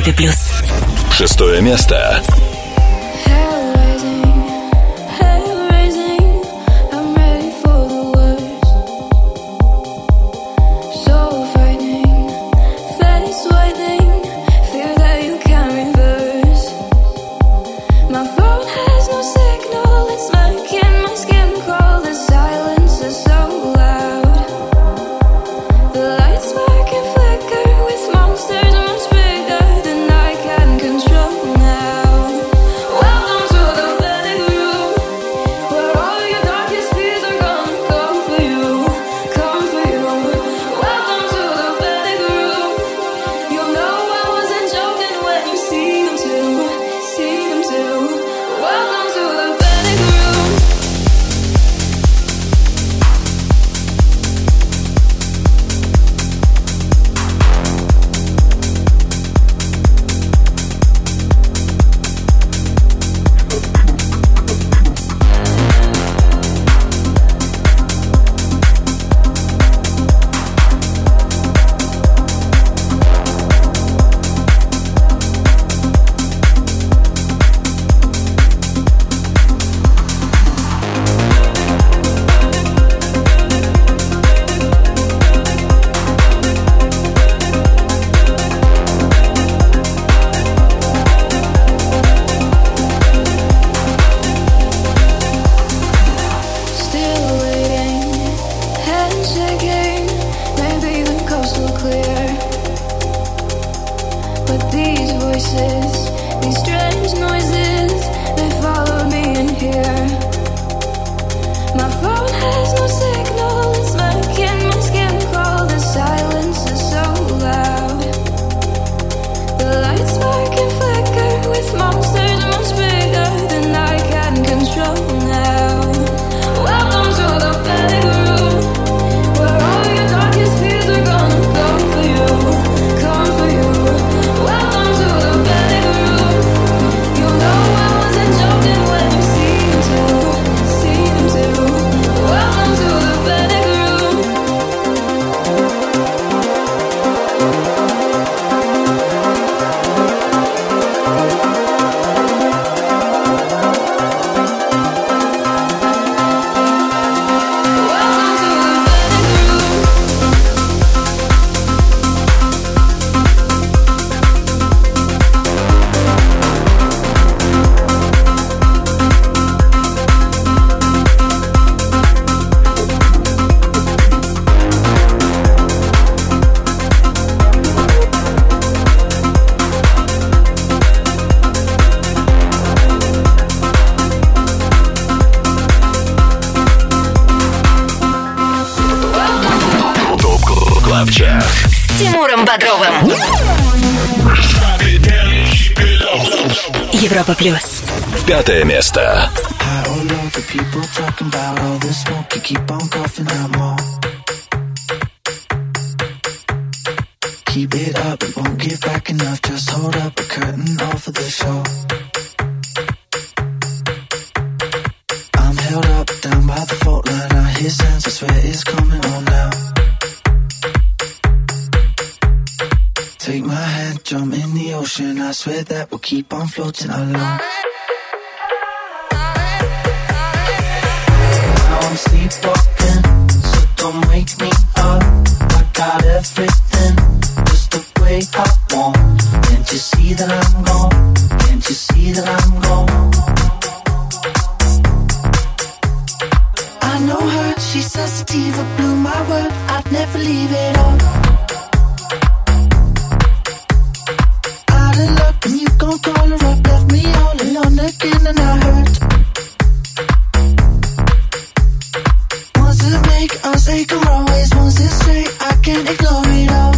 Европе+. 6 место. С Тимуром Бодровым. Европа+. 5 место. Keep it up, it won't give back enough. Just hold up a curtain over the show. I'm held up, down by the fault line. I hear sounds, I swear it's coming on now. Take my hand, jump in the ocean. I swear that we'll keep on floating alone. Now I'm sleepwalking, so don't wake me up. I got everything just the way I want. Can't you see that I'm gone? Can't you see that I'm gone? I know her, she's sensitive, I blew my word, I'd never leave it on. Out of luck and you gon' call her up, left me all alone again and I hurt. Once it make us take a always, once it's straight, I can't ignore it all.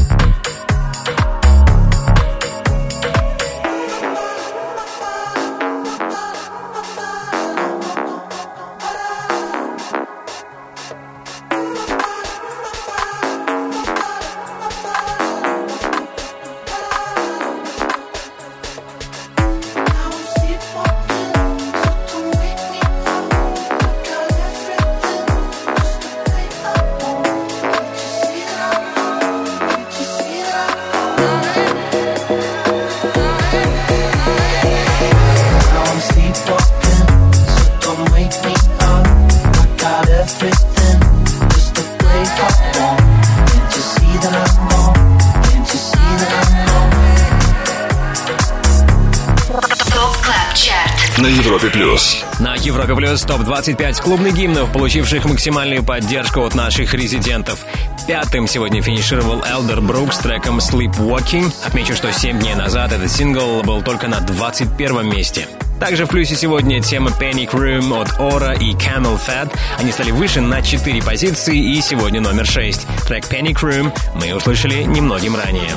Клаб Чарт на Европе плюс. На Европе плюс топ-25 клубных гимнов, получивших максимальную поддержку от наших резидентов. Пятым сегодня финишировал Elderbrook с треком Sleepwalking. Отмечу, что 7 дней назад этот сингл был только на 21 месте. Также в плюсе сегодня тема Panic Room от Aura и Camel Fat. Они стали выше на 4 позиции, и сегодня номер 6. Трек Panic Room мы услышали немногим ранее.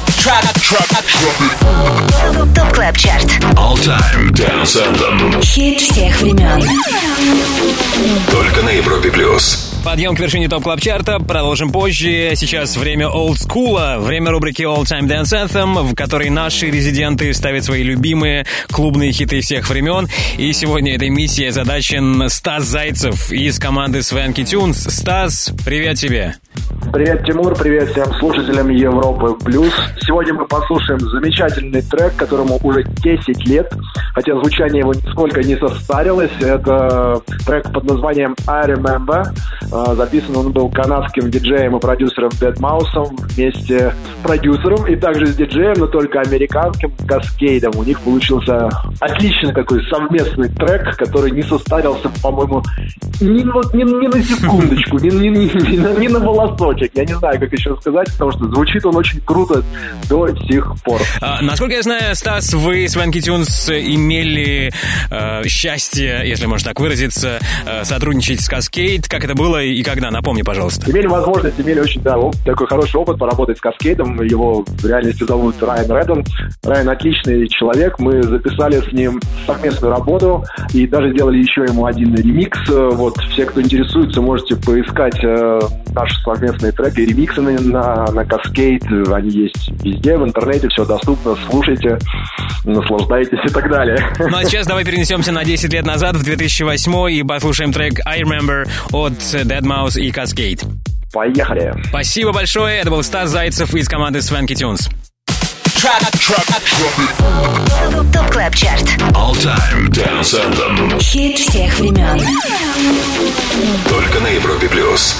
ТОП Клаб Чарт. All Time Dance Anthem. Хит всех времен. Только на Европе плюс. Подъем к вершине ТОП Клаб Чарта продолжим позже. Сейчас время олдскула, время рубрики All Time Dance Anthem, в которой наши резиденты ставят свои любимые клубные хиты всех времен. И сегодня этой миссией озадачен Стас Зайцев из команды Swanky Tunes. Стас, привет тебе! Привет, Тимур, привет всем слушателям Европы Плюс. Сегодня мы послушаем замечательный трек, которому уже 10 лет, хотя звучание его нисколько не состарилось. Это трек под названием I Remember. Записан он был канадским диджеем и продюсером Deadmau5 вместе с продюсером и также с диджеем, но только американским, Каскейдом. У них получился отличный такой совместный трек, который не состарился, по-моему, ни на секундочку, ни на волосочек. Я не знаю, как еще сказать, потому что звучит он очень круто до сих пор. Насколько я знаю, Стас, вы с Swanky Tunes имели счастье, если можно так выразиться, сотрудничать с Cascade. Как это было и когда? Напомни, пожалуйста. Имели возможность, имели очень такой хороший опыт поработать с Cascade. Его в реальности зовут Райан Реддон. Райан отличный человек. Мы записали с ним совместную работу и даже сделали еще ему один ремикс. Вот, все, кто интересуется, можете поискать наши совместные треки и ремиксы на Cascade. Они есть везде, в интернете, все доступно. Слушайте, наслаждайтесь и так далее. Ну а сейчас давай перенесемся на 10 лет назад, в 2008, и послушаем трек I Remember от Deadmau5 и Cascade. Поехали. Спасибо большое. Это был Стас Зайцев из команды Swanky Tunes. ТОП Клаб Чарт. All Time Dance Anthem. Хит всех времен. Только на Европе плюс.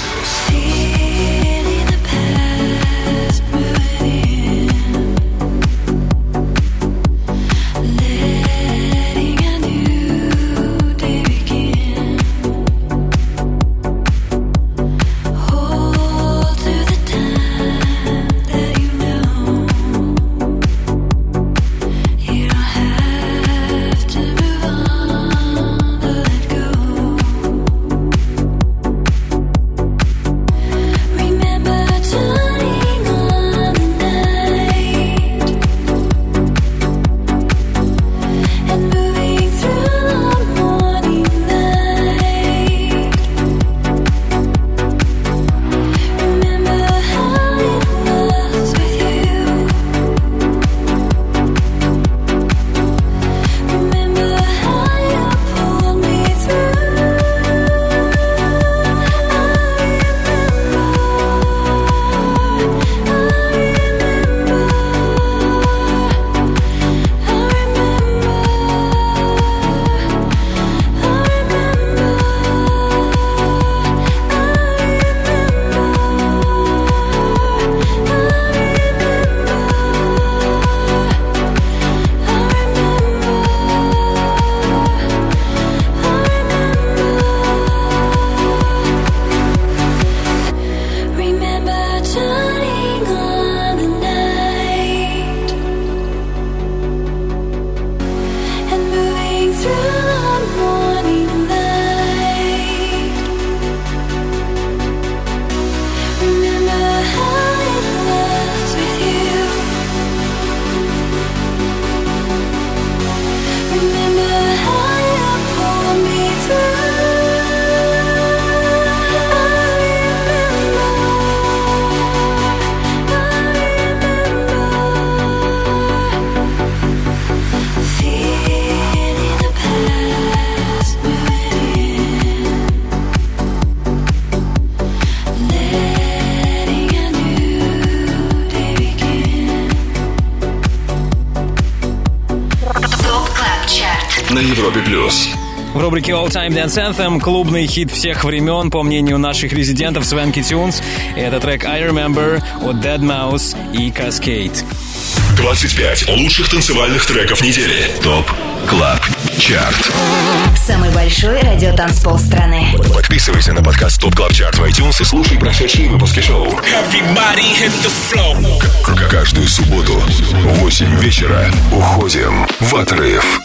На Европе плюс. В рубрике All Time Dance Anthem клубный хит всех времен, по мнению наших резидентов Swanky Tunes. Это трек I Remember от Deadmau5 и Cascade. 25 лучших танцевальных треков недели. ТОП Клаб Чарт. Самый большой радиотанцпол страны. Подписывайся на подкаст Top Club Chart в iTunes и слушай прошедшие выпуски шоу. Каждую субботу в 8 вечера уходим в отрыв.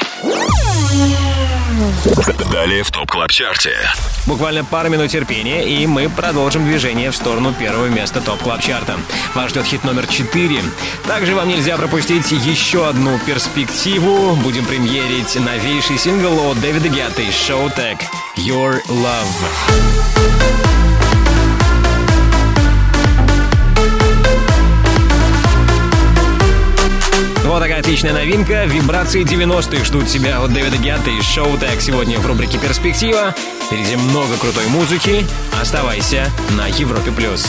Далее в ТОП Клаб Чарте. Буквально пару минут терпения, и мы продолжим движение в сторону первого места ТОП Клаб Чарта. Вас ждет хит номер 4. Также вам нельзя пропустить еще одну перспективу. Будем премьерить новейший сингл от Дэвида Гетты и Showtek «Your Love». Вот такая отличная новинка. Вибрации 90-х ждут тебя от Дэвида Гетты и Showtek сегодня в рубрике «Перспектива». Впереди много крутой музыки. Оставайся на Европе+.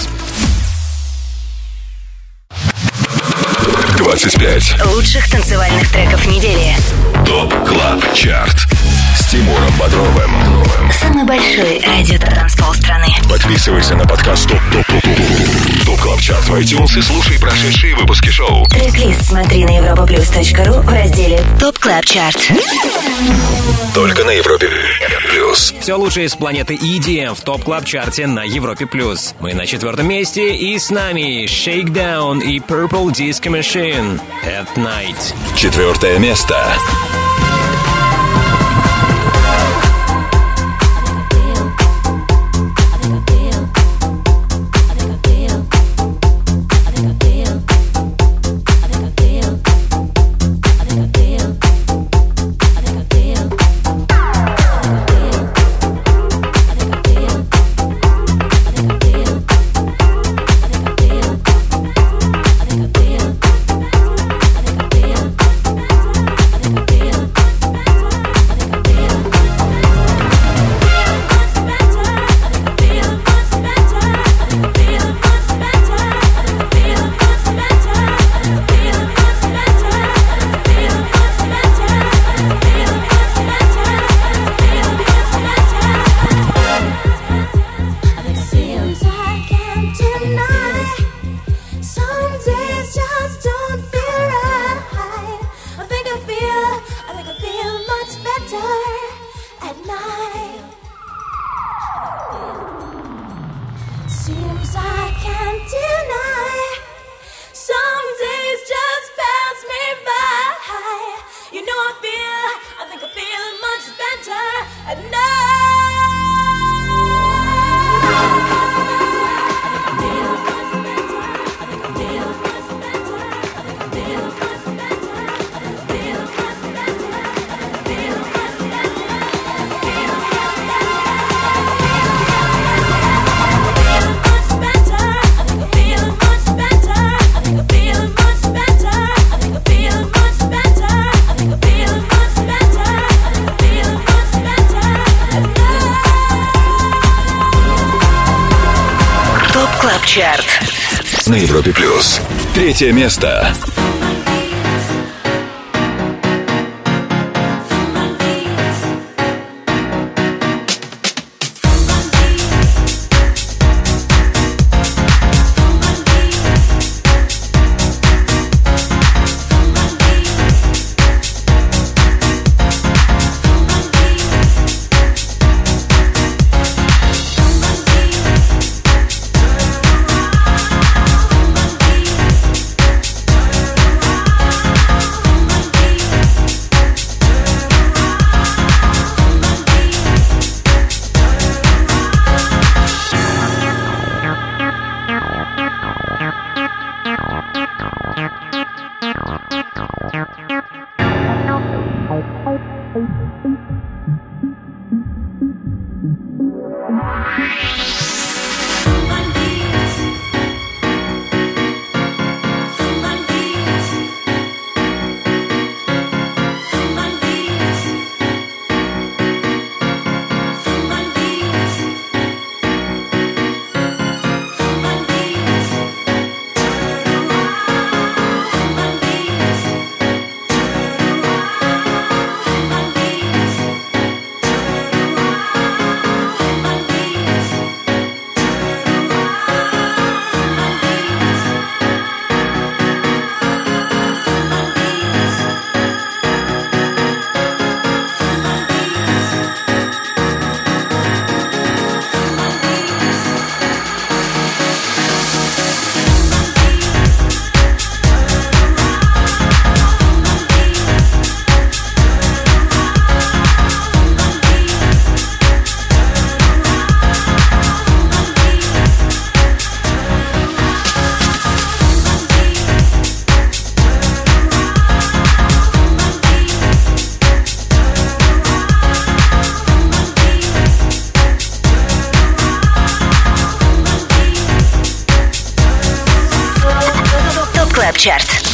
25 лучших танцевальных треков недели. ТОП Клаб Чарт с Тимуром Бодровым. Самый большой радиотанцпол страны. Подписывайся на подкаст ТОП Клаб Чарт в iTunes и слушай прошедшие выпуски шоу. Трек-лист смотри на europaplus.ru в разделе ТОП Клаб Чарт. Только на Европе Плюс. Все лучшее с планеты EDM в ТОП Клаб Чарте на Европе+. Мы на 4-м месте, и с нами Shakedown и Purple Disco Machine at Night. 4-е место. Чарт на Европе+. 3-е место.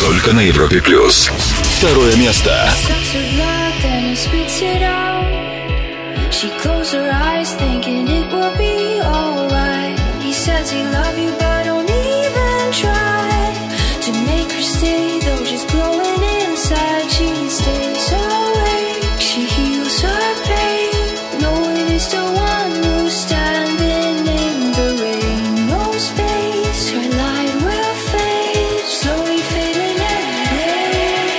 Только на Европе плюс. Второе место. She closed her eyes thinking it will be alright. He says he love you but don't even try to make her stay, though she's glowing inside. She stays awake, she heals her pain, knowing it's the one who's standing in the rain. No space, her light will fade, slowly fading every day.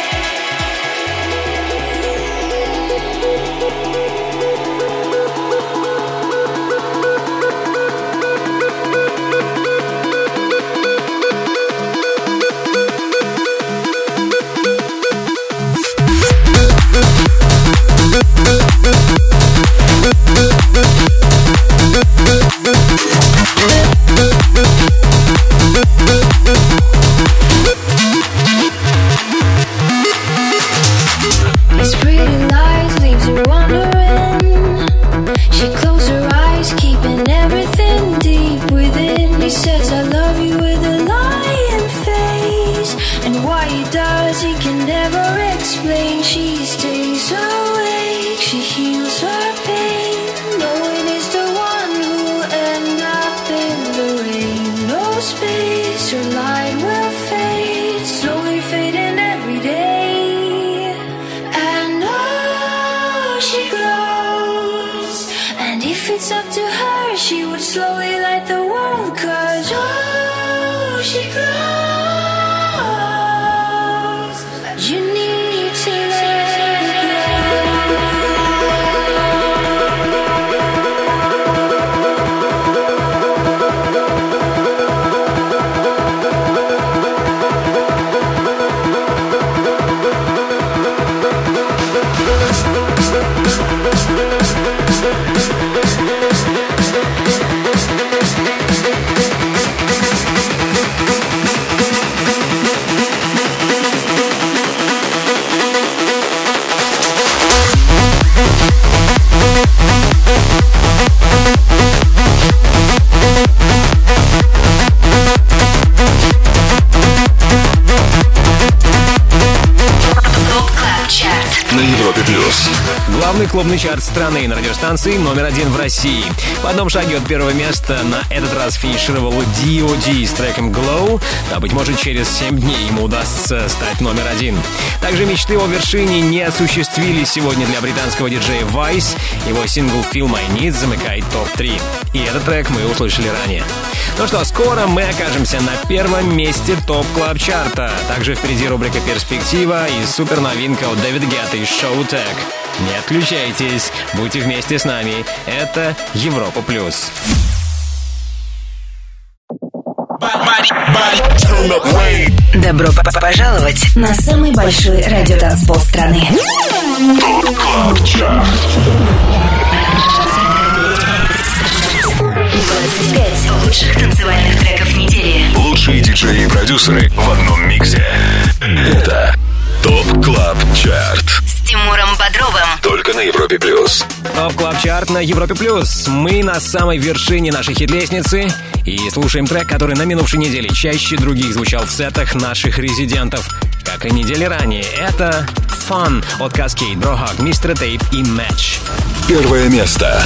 These pretty lies leaves her wondering. She closed her eyes, keeping everything deep within. He says I love you with a lying face, and why he does he can never explain. She stays awake, she heals her pain, knowing it's the one who'll end up in the rain. No space, her light will fade, slowly fading every day. And oh, she glows, and if it's up to her, she would slowly light the world. 'Cause oh, she glows, you need to let it На Европе плюс. Главный клубный чарт страны на радиостанции номер 1 в России. В одном шаге от первого места на этот раз финишировал D.O.D. с треком Glow. А быть может, через 7 дней ему удастся стать номер 1. Также мечты о вершине не осуществились сегодня для британского диджея Vice. Его сингл Feel My Need замыкает топ-3. И этот трек мы услышали ранее. Ну что, скоро мы окажемся на первом месте топ-клаб-чарта. Также впереди рубрика «Перспектива» и суперновинка от Дэвида Гетты и Show Tech. Не отключайтесь, будьте вместе с нами. Это Европа Плюс. Добро пожаловать на самый большой радиотанцпол страны. ТОП КЛАБ ЧАРТ. 25 лучших танцевальных треков недели. Лучшие диджеи и продюсеры в одном миксе. Это ТОП КЛАБ ЧАРТ. С Тимуром Бодровым. Только на Европе плюс. ТОП Клаб Чарт на Европе Плюс. Мы на самой вершине нашей хит-лестницы и слушаем трек, который на минувшей неделе чаще других звучал в сетах наших резидентов. Как и недели ранее, это Fun от Cascade, Brohug, Mr. Tape и Match. Первое место.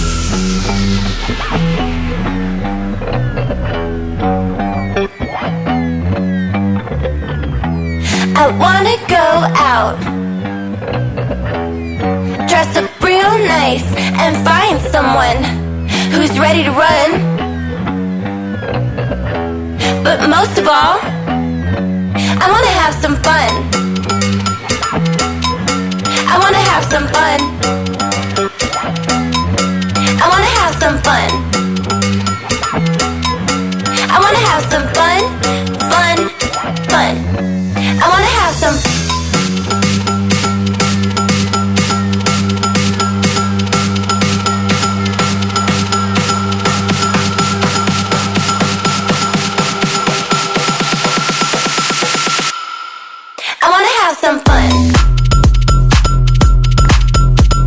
I wanna go out, dress up real nice and find someone who's ready to run. But most of all, I wanna have some fun. I wanna have some fun. I wanna have some fun. I wanna have some fun, fun, fun. I wanna have some. I wanna have some fun.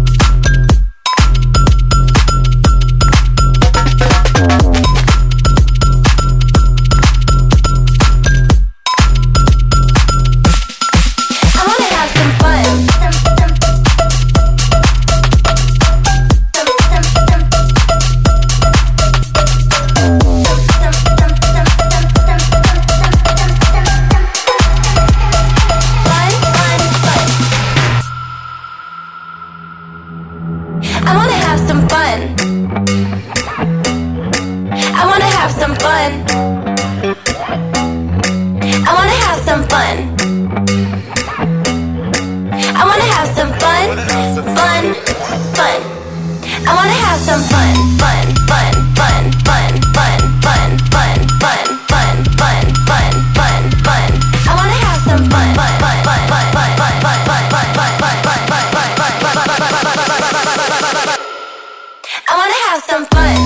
fun, fun, fun. I wanna have some fun, fun, fun, fun, fun, fun, fun, fun, fun, fun, fun, fun, fun, fun. I wanna have some fun, fun, fun, fun, fun, fun, fun, fun, fun, fun, fun, fun, fun, fun, fun, fun. I wanna have some fun.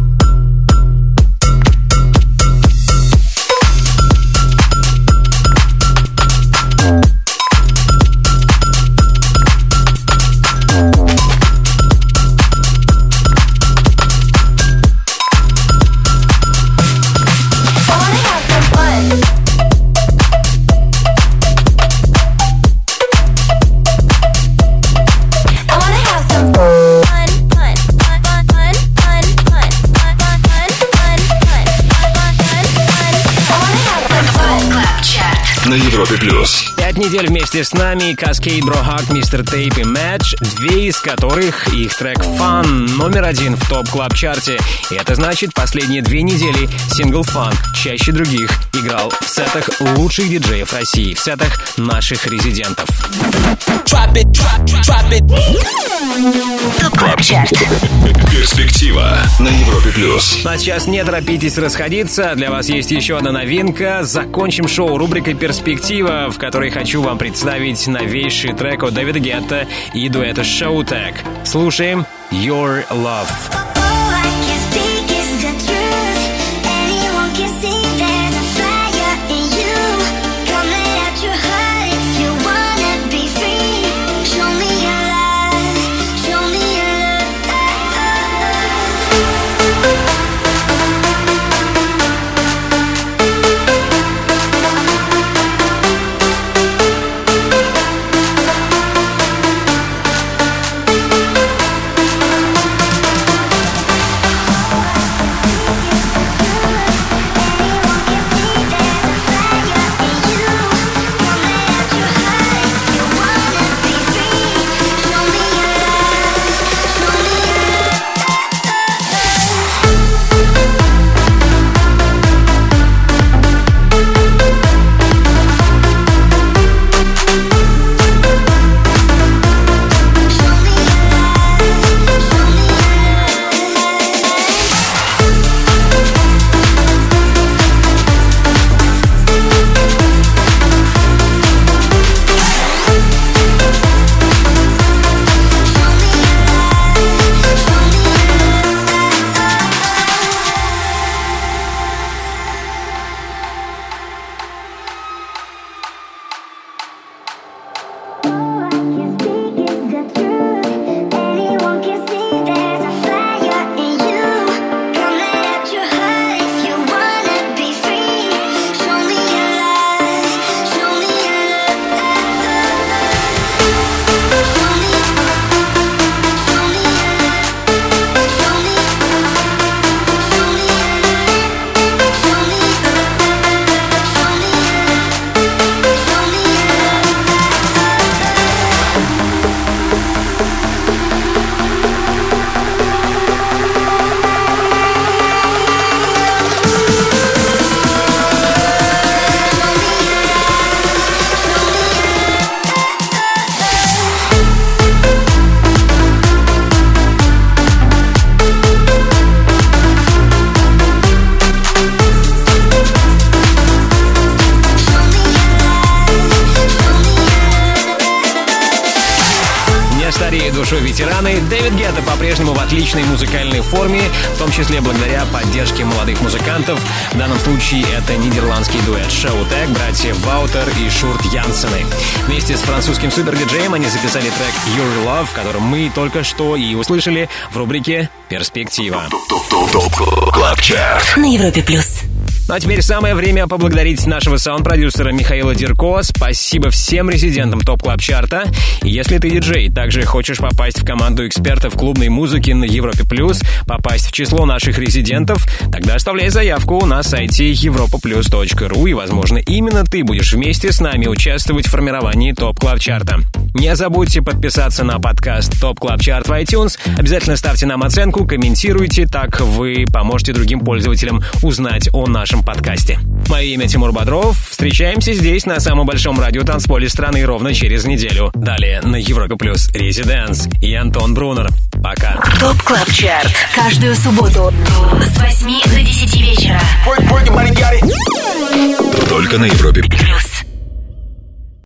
На Европе плюс. 5 недель вместе с нами Cascade, Brohak, Mr. Tape и Match, две из которых их трек Fun номер 1 в топ клаб чарте. И это значит, последние 2 недели сингл Fun чаще других играл в сетах лучших диджеев России, в сетах наших резидентов. Топ клаб чарт. Перспектива на Европе плюс. А сейчас не торопитесь расходиться. Для вас есть еще одна новинка. Закончим шоу рубрикой «Перспектива», в которой хочу вам представить новейший трек от Дэвида Гетта и дуэта Showtek. Слушаем «Your Love». Душой ветераны, Дэвид Гетта по-прежнему в отличной музыкальной форме, в том числе благодаря поддержке молодых музыкантов. В данном случае это нидерландский дуэт Showtek, братья Ваутер и Шурт Янсены. Вместе с французским супер-диджеем они записали трек Your Love, который мы только что и услышали в рубрике «Перспектива». На Европе плюс. Ну а теперь самое время поблагодарить нашего саунд-продюсера Михаила Дерко. Спасибо всем резидентам ТОП Клаб Чарта. И если ты диджей, также хочешь попасть в команду экспертов клубной музыки на Европе плюс, попасть в число наших резидентов, тогда оставляй заявку на сайте europaplus.ru, и, возможно, именно ты будешь вместе с нами участвовать в формировании ТОП Клаб Чарта. Не забудьте подписаться на подкаст ТОП Клаб Чарт в iTunes. Обязательно ставьте нам оценку, комментируйте, так вы поможете другим пользователям узнать о нашем нашем подкасте. Мое имя Тимур Бодров. Встречаемся здесь, на самом большом радиотанцполе страны, ровно через неделю. Далее на Европе Плюс Резиденс и Антон Брунер. Пока. ТОП Клаб Чарт. Каждую субботу с 8 до 10 вечера. Только на Европе Плюс.